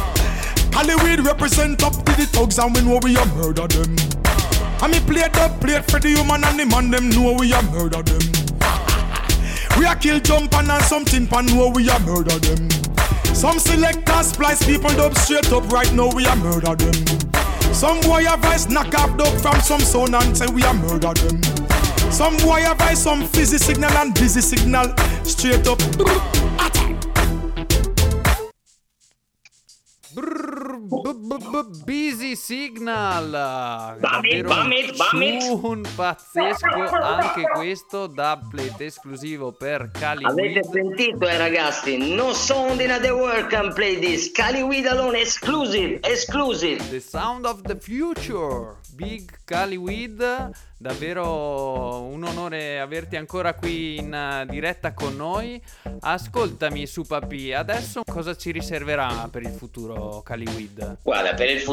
Cali weed represent up to the thugs and we know we a murder them. And me play dub plate for the human and the man them know we a murder them. We a kill jump and something pan know we a murder them. Some selectors splice people dub straight up. Right now we a murder them. Some boy have voice knock off dub from some sound and say we a murder them. Some boy have voice some fizzy signal and busy signal straight up. Busy Signal. Bamit, bamit, bamit. Un pazzesco anche questo dubplate esclusivo per Cali Avete Weed. sentito eh ragazzi? No sound in the world can play this. Cali Weed alone exclusive, exclusive. The sound of the future. Big Cali Weed. Davvero un onore averti ancora qui in uh, diretta con noi. Ascoltami su Papi, adesso cosa ci riserverà per il futuro Cali Weed? Guarda, per il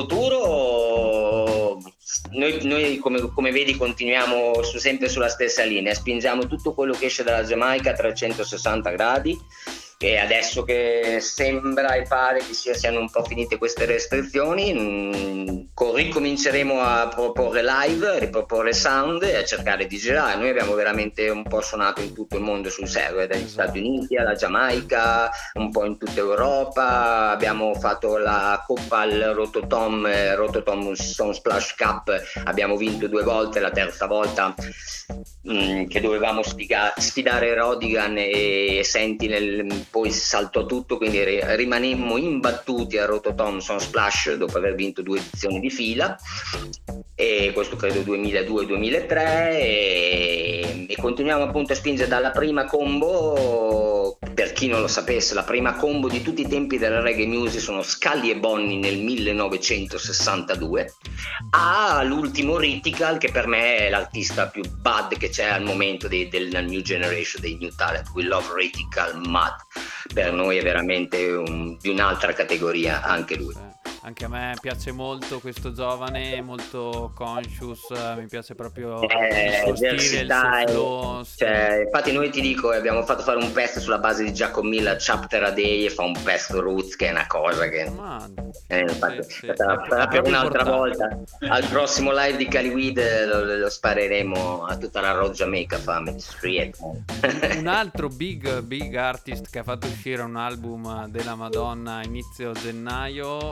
futuro noi, noi come, come vedi continuiamo su, sempre sulla stessa linea, spingiamo tutto quello che esce dalla Giamaica a trecentosessanta gradi. E adesso che sembra e pare che sia, siano un po' finite queste restrizioni, mh, ricominceremo a proporre live, a riproporre sound e a cercare di girare. Noi abbiamo veramente un po' suonato in tutto il mondo sul serio, dagli Stati Uniti alla Giamaica, un po' in tutta Europa. Abbiamo fatto la coppa al Rototom, eh, Rototom Sound Splash Cup, abbiamo vinto due volte, la terza volta mh, che dovevamo sfiga- sfidare Rodigan e Sentinel. Poi saltò tutto, quindi rimanemmo imbattuti a Rototom Sound Splash dopo aver vinto due edizioni di fila, e questo credo duemiladue duemilatré, e, e continuiamo appunto a spingere dalla prima combo. Per chi non lo sapesse, la prima combo di tutti i tempi della reggae music sono Scully e Bonnie nel millenovecentosessantadue, all'ultimo Ritical, che per me è l'artista più bad che c'è al momento dei, della new generation, dei new talent. We love Ritical mad, per noi è veramente un, di un'altra categoria anche lui. Anche a me piace molto questo giovane, molto conscious, mi piace proprio eh, il suo stile, il suo flow. Cioè, infatti noi ti dico, abbiamo fatto fare un pezzo sulla base di Jacob Miller, Chapter a Day, e fa un pezzo roots che è una cosa che eh, infatti, sì, sì. Sarà, sarà per un'altra volta. Al prossimo live di Cali Weed lo, lo spareremo a tutta la Road Jamaica Family Street. Un altro big big artist che ha fatto uscire un album della Madonna a inizio gennaio e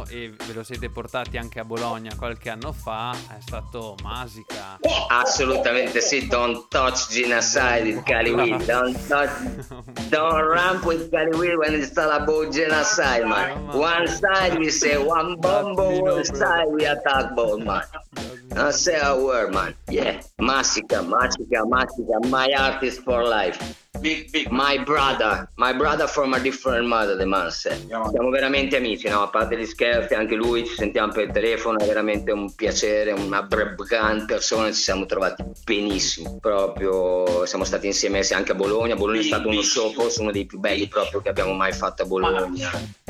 ve lo siete portati anche a Bologna qualche anno fa, è stato Masica. Assolutamente sì, don't touch genocide with Cali don't touch, don't ramp with Cali when it's all about genocide, man. One side we say one bomb, one side we attack both, man. Don't say a word, man. Yeah, Masica, Masica, Masica, my artist for life. Big, big. My brother, my brother from a different mother, the man said. Siamo veramente amici, no? A parte gli scherzi, anche lui, ci sentiamo per il telefono, è veramente un piacere, una gran persona, ci siamo trovati benissimo. Proprio, siamo stati insieme anche a Bologna. Bologna è stato uno show, forse uno dei più belli proprio che abbiamo mai fatto a Bologna.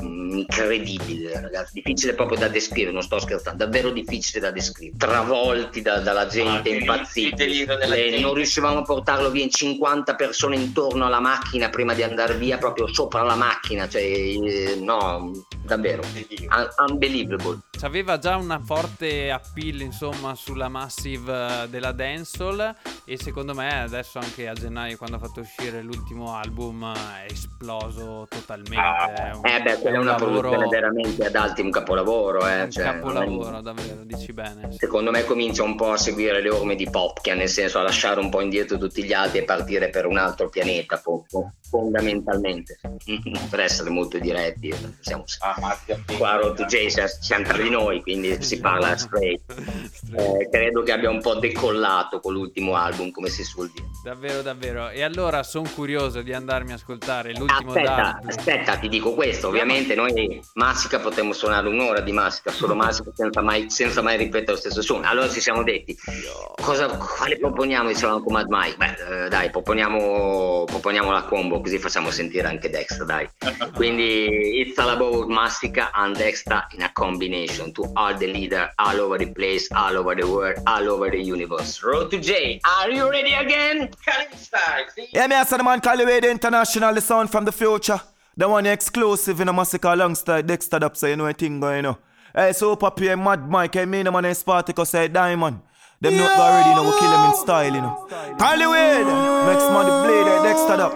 Incredibile, ragazzi, difficile proprio da descrivere, non sto scherzando, davvero difficile da descrivere. Travolti da, dalla gente, ah, impazziti. Eh, non riuscivamo a portarlo via in cinquanta persone intorno alla macchina prima di andare via, proprio sopra la macchina, cioè eh, no, davvero Un- unbelievable. C'aveva già una forte appeal, insomma, sulla massive della dancehall, e secondo me adesso anche a gennaio, quando ha fatto uscire l'ultimo album, è esploso totalmente. Ah, è un, eh beh, quella è una lavoro, produzione veramente ad alti, un capolavoro, eh, un cioè, capolavoro, davvero, dici bene. Secondo me comincia un po' a seguire le orme di Popkia, nel senso a lasciare un po' indietro tutti gli altri e partire per un altro pianeta, po- po- fondamentalmente. Per essere molto diretti, siamo qua a Road to J, siamo tra di noi, quindi si parla straight. Eh, credo che abbia un po' decollato con l'ultimo album, come si suol dire. Davvero, davvero. E allora sono curioso di andarmi a ascoltare l'ultimo. Aspetta, aspetta, ti dico questo. Ovviamente noi Masica potremmo suonare un'ora di Masica, solo Masica, senza mai, senza mai ripetere lo stesso suono. Allora ci siamo detti, cosa, quale proponiamo? Dicevamo con Mad Mike. Beh, eh, dai, proponiamo, proponiamo la combo, così facciamo sentire anche Dexta, dai. Quindi It's All About Masica and Dexta in a combination to all the leader, all over the place, all over the world, all over the universe. Road to J, are you ready again? Yeah, me I said the man Caliway the International, the sound from the future. The one exclusive in a Massacre alongside Dexta Dub, so you know a thing going on. Hey, so Papi and Mad Mike, I mean the man in Spartacus say Diamond. Them not already, you know, we kill them in style, you know. Caliway, next man the blade, hey, Dexta Dub.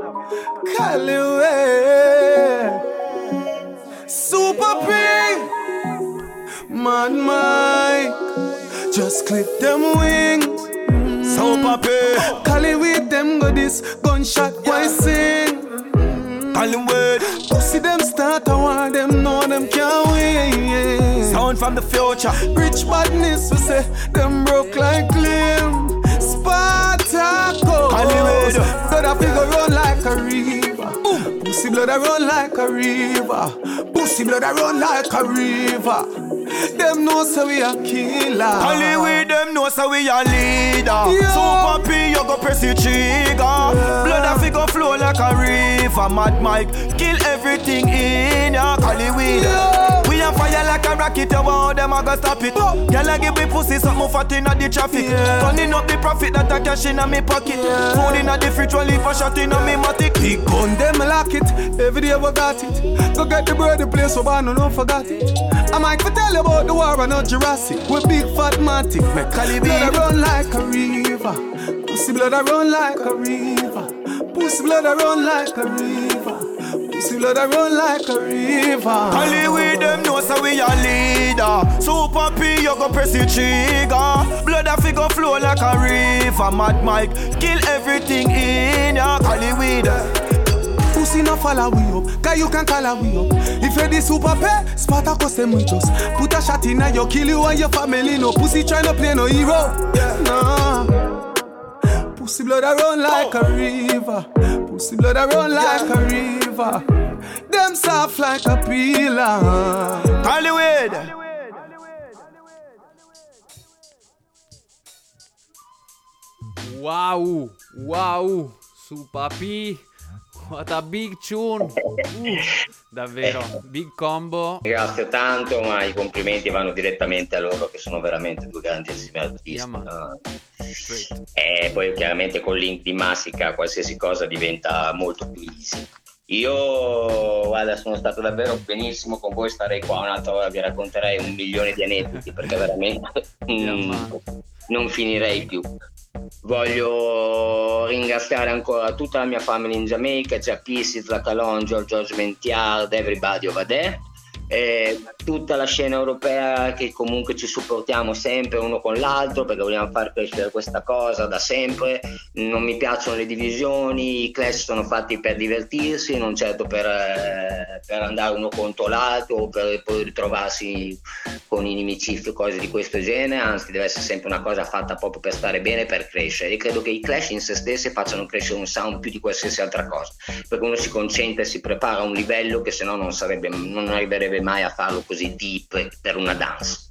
Caliway, Super P, Mad Mike, just clip them wings. So Papi, Cali with them go this gunshot, why sing? Cali with pussy them start a war, them know them can't win. Sound from the future, rich badness we say, them broke like Clem. Spartacus, Cali with blood a figure run like a river. Pussy blood a run like a river. Pussy blood a run like a river. Them know so we a killer. Hollywood them know so we a leader. Yeah. Super P you go press the trigger. Yeah. Blood a figure flow like a river. Mad Mike kill everything in ya. Hollywood yeah. We a fire like a rocket. You want them a go stop it. Oh. Girl a give me pussy something fat inna the traffic. Yeah. Turning up the profit that I cash inna me pocket. Yeah. Food inna the fridge while leave a shot inna me matic. Big gun them lock it. Every day we got it. Go get the bird the place so I no no forgot it. I might tell you about the war and not Jurassic. We big fat matic. Make Cali blood a run like a river. Pussy blood a run like a river. Pussy blood a run like a river. Pussy blood a run like a river. Cali with them know so we a leader. Super P you go press the trigger. Blood a figure flow like a river. Mad Mike kill everything in ya. Cali with them. Pussy no follow we up, cause you can call we up. If you're the super pay, Spartacus them with us. Put a shot in and you kill you and your family. No pussy try no play no hero. Nah. Pussy blood a run like a river. Pussy blood a run like a river. Them soft like a pillar. Hollywood. Wow, wow, Super P. What a big tune. Uh, davvero, big combo. Ringrazio tanto, ma i complimenti vanno direttamente a loro, che sono veramente due grandissimi artisti. Yeah, uh, e poi chiaramente con link di Masica qualsiasi cosa diventa molto più easy. Io guarda, sono stato davvero benissimo con voi, starei qua un'altra ora, vi racconterei un milione di aneddoti perché veramente mm, non finirei più. Voglio ringraziare ancora tutta la mia famiglia in Giamaica, Giappi, Sidla Calon, George Mentiard, everybody over there. eh, tutta la scena europea che comunque ci supportiamo sempre uno con l'altro perché vogliamo far crescere questa cosa da sempre. Non mi piacciono le divisioni, i Clash sono fatti per divertirsi, non certo per, eh, per andare uno contro l'altro o per poi ritrovarsi con inimicizi o cose di questo genere, anzi deve essere sempre una cosa fatta proprio per stare bene, per crescere. E credo che i Clash in se stessi facciano crescere un sound più di qualsiasi altra cosa, perché uno si concentra e si prepara a un livello che se no non sarebbe, non arriverebbe mai a farlo così deep per una dance.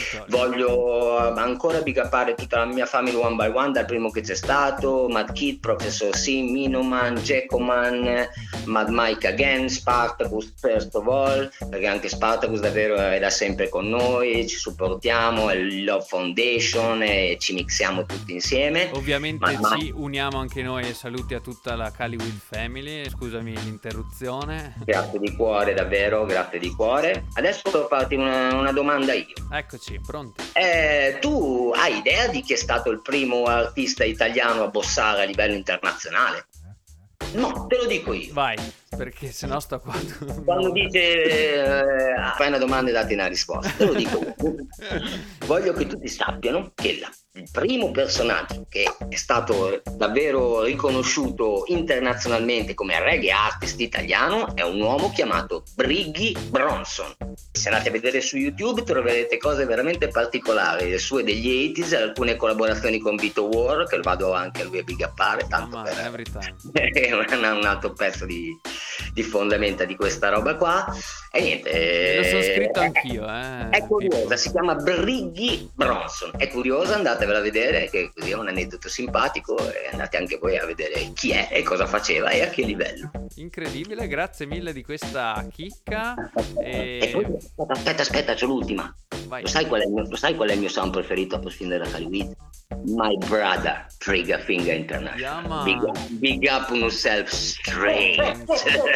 Voglio ancora big upare tutta la mia family one by one, dal primo che c'è stato, Mad Kid, Professor C, Minoman, Jackoman, Mad Mike Again, Spartacus first of all, perché anche Spartacus davvero è da sempre con noi, ci supportiamo, è il Love Foundation e ci mixiamo tutti insieme. Ovviamente ma, ma... ci uniamo anche noi e saluti a tutta la Caliwid Family, scusami l'interruzione. Grazie di cuore, davvero, grazie di cuore. Adesso devo farti una, una domanda io. Eccoci, pronti. Eh, tu hai idea di chi è stato il primo artista italiano a bossare a livello internazionale? No, te lo dico io. Vai, perché sennò sto qua. Quando dice eh, fai una domanda e dati una risposta, te lo dico io. Voglio che tutti sappiano che la, il primo personaggio che è stato davvero riconosciuto internazionalmente come reggae artist italiano è un uomo chiamato Briggy Bronson. Se andate a vedere su YouTube troverete cose veramente particolari, le sue degli ottanta, alcune collaborazioni con Vito War, che lo vado anche a lui a big uppare, tanto oh, per every time. è un, un altro pezzo di, di fondamenta di questa roba qua. E niente, lo sono scritto anch'io, eh. È curiosa, si chiama Briggy Bronson, è curiosa, andatevela a vedere, che così è un aneddoto simpatico, e andate anche voi a vedere chi è e cosa faceva e a che livello. Incredibile, grazie mille di questa chicca. E... e poi, aspetta, aspetta, c'è l'ultima. Lo sai, qual è il mio, lo sai qual è il mio sound preferito a prescindere da Caliwid? My brother, Trigger Finger International. Big up, big up on yourself straight.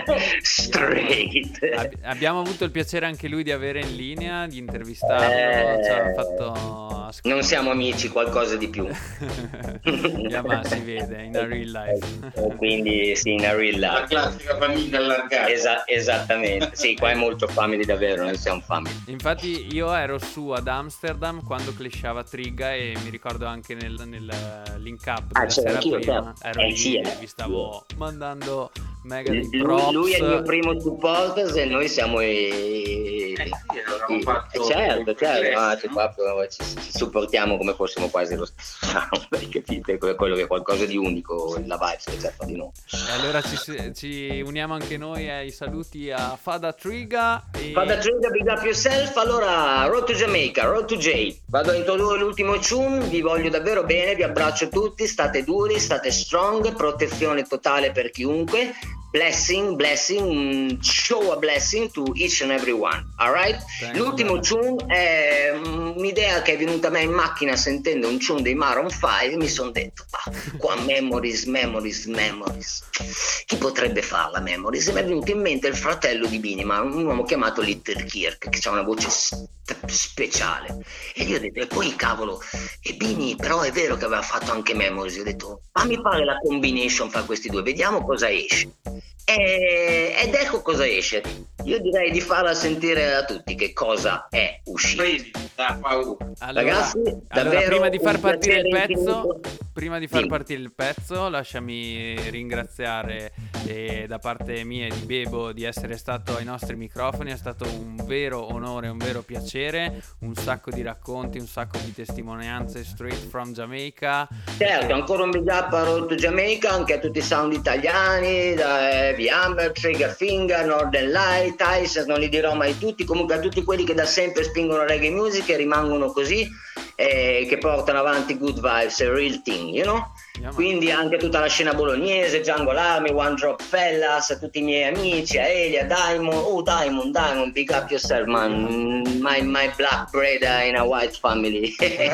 Straight. Ab- abbiamo avuto il piacere anche lui di avere in linea, di intervistarlo. Eh, ci ha fatto non siamo amici, qualcosa di più. Yeah, ma si vede in a real life. Quindi sì, in a real life. La classica famiglia allargata. Esa- esattamente. Sì, qua è molto family davvero, noi siamo family. Infatti io ero su ad Amsterdam quando clashava Trigga e mi ricordo anche nel, nel link up della ah, sera prima certo. ero eh, lì sì, e vi stavo mandando mega lui, di props. Lui è il mio primo supporter e noi siamo i... Eh sì, i... fatto certo, certo, no, ci, proprio, ci, ci supportiamo come fossimo quasi lo stesso sound, capite? Quello che è qualcosa di unico, la vibe che c'è fra di noi. E allora ci, ci uniamo anche noi ai saluti a Fada Trigga e... Fada Trigga, big up yourself. Allora, Road to Jamaica, Road to J. Vado a introdurre l'ultimo tune, vi voglio davvero bene, vi abbraccio tutti, state duri, state strong, protezione totale per chiunque. Blessing, blessing, show a blessing to each and every one, alright? L'ultimo tune è un'idea che è venuta a me in macchina sentendo un tune dei Maroon cinque, mi sono detto, ah, qua memories, memories, memories. Chi potrebbe farla memories? E mi è venuto in mente il fratello di Binima, un uomo chiamato Little Kirk, che ha una voce st- speciale. E io ho detto, e poi cavolo, e Bini però è vero che aveva fatto anche memories, io ho detto, fammi fare la combination fra questi due, vediamo cosa esce. E, ed ecco cosa esce. Io direi di farla sentire a tutti che cosa è uscito. Allora, ragazzi, allora prima di far partire il pezzo infinito. prima di far sì. partire il pezzo lasciami ringraziare eh, da parte mia e di Bebo di essere stato ai nostri microfoni. È stato un vero onore, un vero piacere, un sacco di racconti, un sacco di testimonianze straight from Jamaica. Certo, ancora un big up a Road to Jamaica, anche a tutti i sound italiani, da Heavy Amber, Trigger Finger, Northern Light, Ice, non li dirò mai tutti, comunque a tutti quelli che da sempre spingono reggae music e rimangono così, eh, che portano avanti good vibes, a real thing, you know? Yeah, quindi anche tutta la scena bolognese, Jungle Army, One Drop Fellas, a tutti i miei amici, a Elia, Diamond, oh Diamond, Diamond, big up yourself man, my, my black brother in a white family,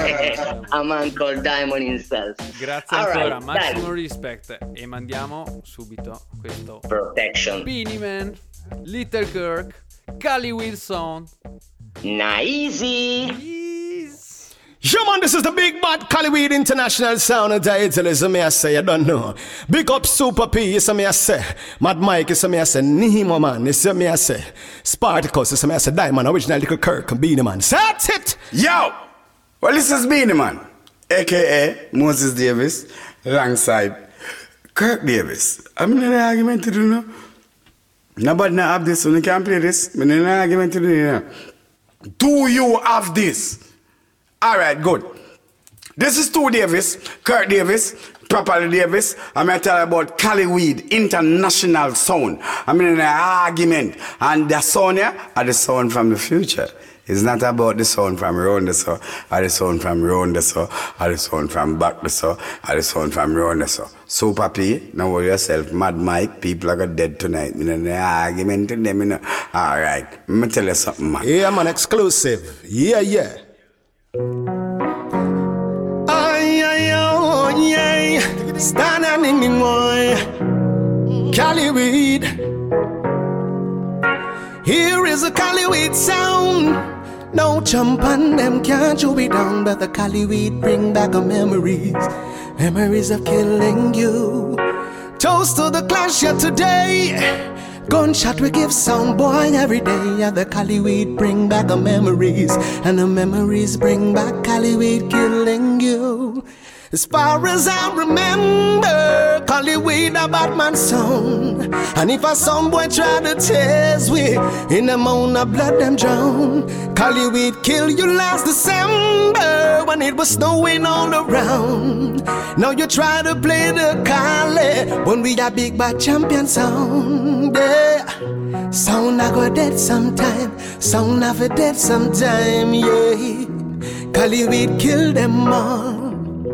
a man called Diamond himself. Grazie all ancora, right, massimo dai. Respect e mandiamo subito questo Protection Beanie Man, Little Kirk, Cali Wilson, Nice. Yes. Yeah, man, this is the big bad Caliweed International Sound and title is me I say, I don't know. Big up Super P, is me I say. Mad Mike, is me I say. Nemo, man, is me I say. Spartacus, is me I say. Diamond, original little Kirk, and Beanie Man. That's it! Yo! Well, this is Beanie Man, a k a. Moses Davis, alongside Kirk Davis. I'm in an argument to do now. Nobody now have this, so you can't play this. I'm in an argument to do now. Do you have this? Alright, good. This is Stu Davis, Kirk Davis, Properly Davis. I'm going to tell you about Caliweed International Sound. I'm in an argument. And the sound here are the sound from the future. It's not about the sound from around the sound, or the sound from around the sound, or the sound from back the sound, or the sound from around the sound. Super P, now worry yourself, Mad Mike, people are going dead tonight. You know, the argument to them, you know. Alright, let me tell you something, man. Yeah, man, exclusive. Yeah, yeah. Ay, ay, oh, yeah. Stand and in me, boy. Caliweed. Here is a Caliweed sound. No jump on them, can't you be down. But the Caliweed bring back our memories. Memories of killing you. Toast to the clash here today. Gunshot we give sound boy every day. Yeah, the Caliweed bring back our memories. And the memories bring back Caliweed killing you. As far as I remember, Caliweed a Batman song. And if a some boy try to test we, in the mound of blood them drown. Caliweed kill you last December when it was snowing all around. Now you try to play the Cali when we a big bad champion sound. Yeah, sound I go dead sometime, sound I for dead sometime. Yeah, Caliweed kill them all.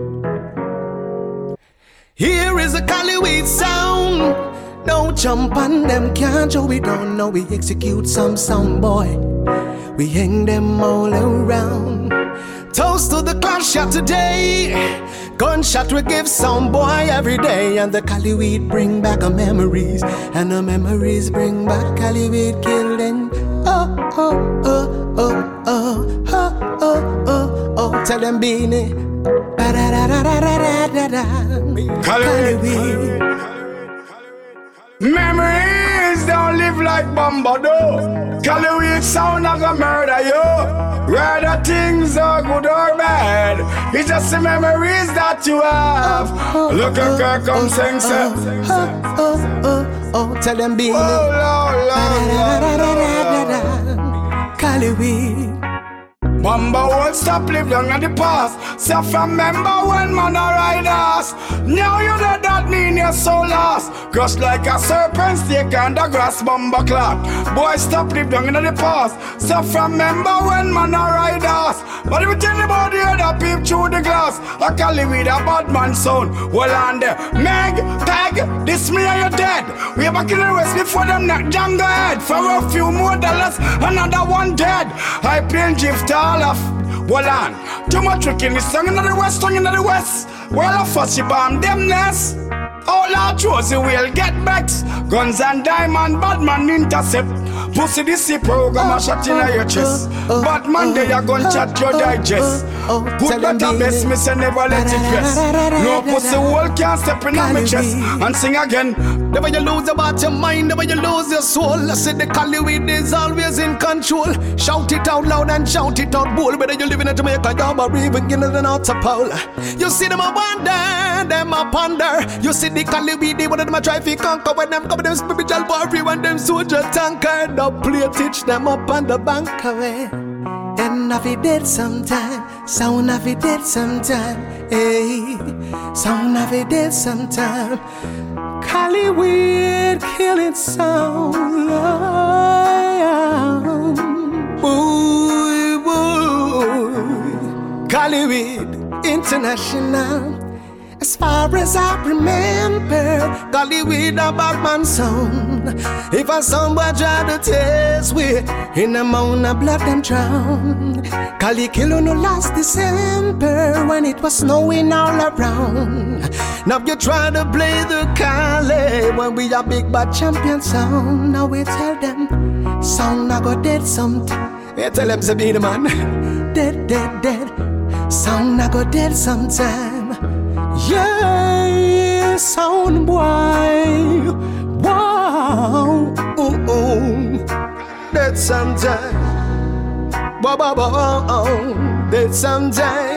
Here is a Caliweed sound. Don't jump on them, can't you? We don't know. We execute some sound boy. We hang them all around. Toast to the clash shot today. Gunshot we give sound boy every day. And the Caliweed bring back our memories. And the memories bring back Caliweed killing. Oh, oh, oh, oh, oh, oh, oh, oh, oh. Tell them Beanie. Caliweed. Memories don't live like Bombado. Caliweed sound like a murder you. Whether things are good or bad, it's just the memories that you have. Look at Kirk come sing say. Oh, oh, oh, oh, tell them Beanie. Caliweed. Bamba won't stop live long in the past. So from remember when man a ride us. Now you know that mean you're so lost. Crush like a serpent stick on the grass bamba clock. Boy stop live long in the past. So from remember when man a ride us. But if you tell about the other peep through the glass, I call it with a bad man sound. Well on there, Meg, tag, this me and you dead. We back in the west before them knock jam the head. For a few more dollars, another one dead. I play drift all off. Well on, too much trick in the song in the west, song in the west. Well, I fuss you bomb them nest. All our Josie will get back. Guns and diamond, bad man intercept. Pussy this program a shot in your chest. Bad man they a gun chat your digest. Good better best me say never let it rest. No pussy wall can't step in on my chest. And sing again. Never you lose about your mind, never you lose your soul. I said the Caliweed is always in control. Shout it out loud and shout it out bold. Whether you live in Jamaica, Yaba, or even in the North Pole. You see them a wonder, them a ponder. You see the Caliweed, they one of them a try to conquer. When them come them spiritual warrior, when them soldier tanker. The play teach them up on the bank away. And if it did sometime, sound of it did sometime. Hey, sound of it did sometime. Caliweed killing sound. Boy, boy. Caliweed International. As far as I remember, Caliweed a Batman sound. If a somebody try to test we, in the mound of blood them drown. Cali kill no last December when it was snowing all around. Now you try to play the Cali when we a big bad champion sound. Now we tell them, sound I go dead sometime. We tell them to be the man, dead, dead, dead. Sound I go dead sometime. Yeah, sound boy. Wow, ooh, ooh. Dead sometime. Wow, wow, wow, dead sometime.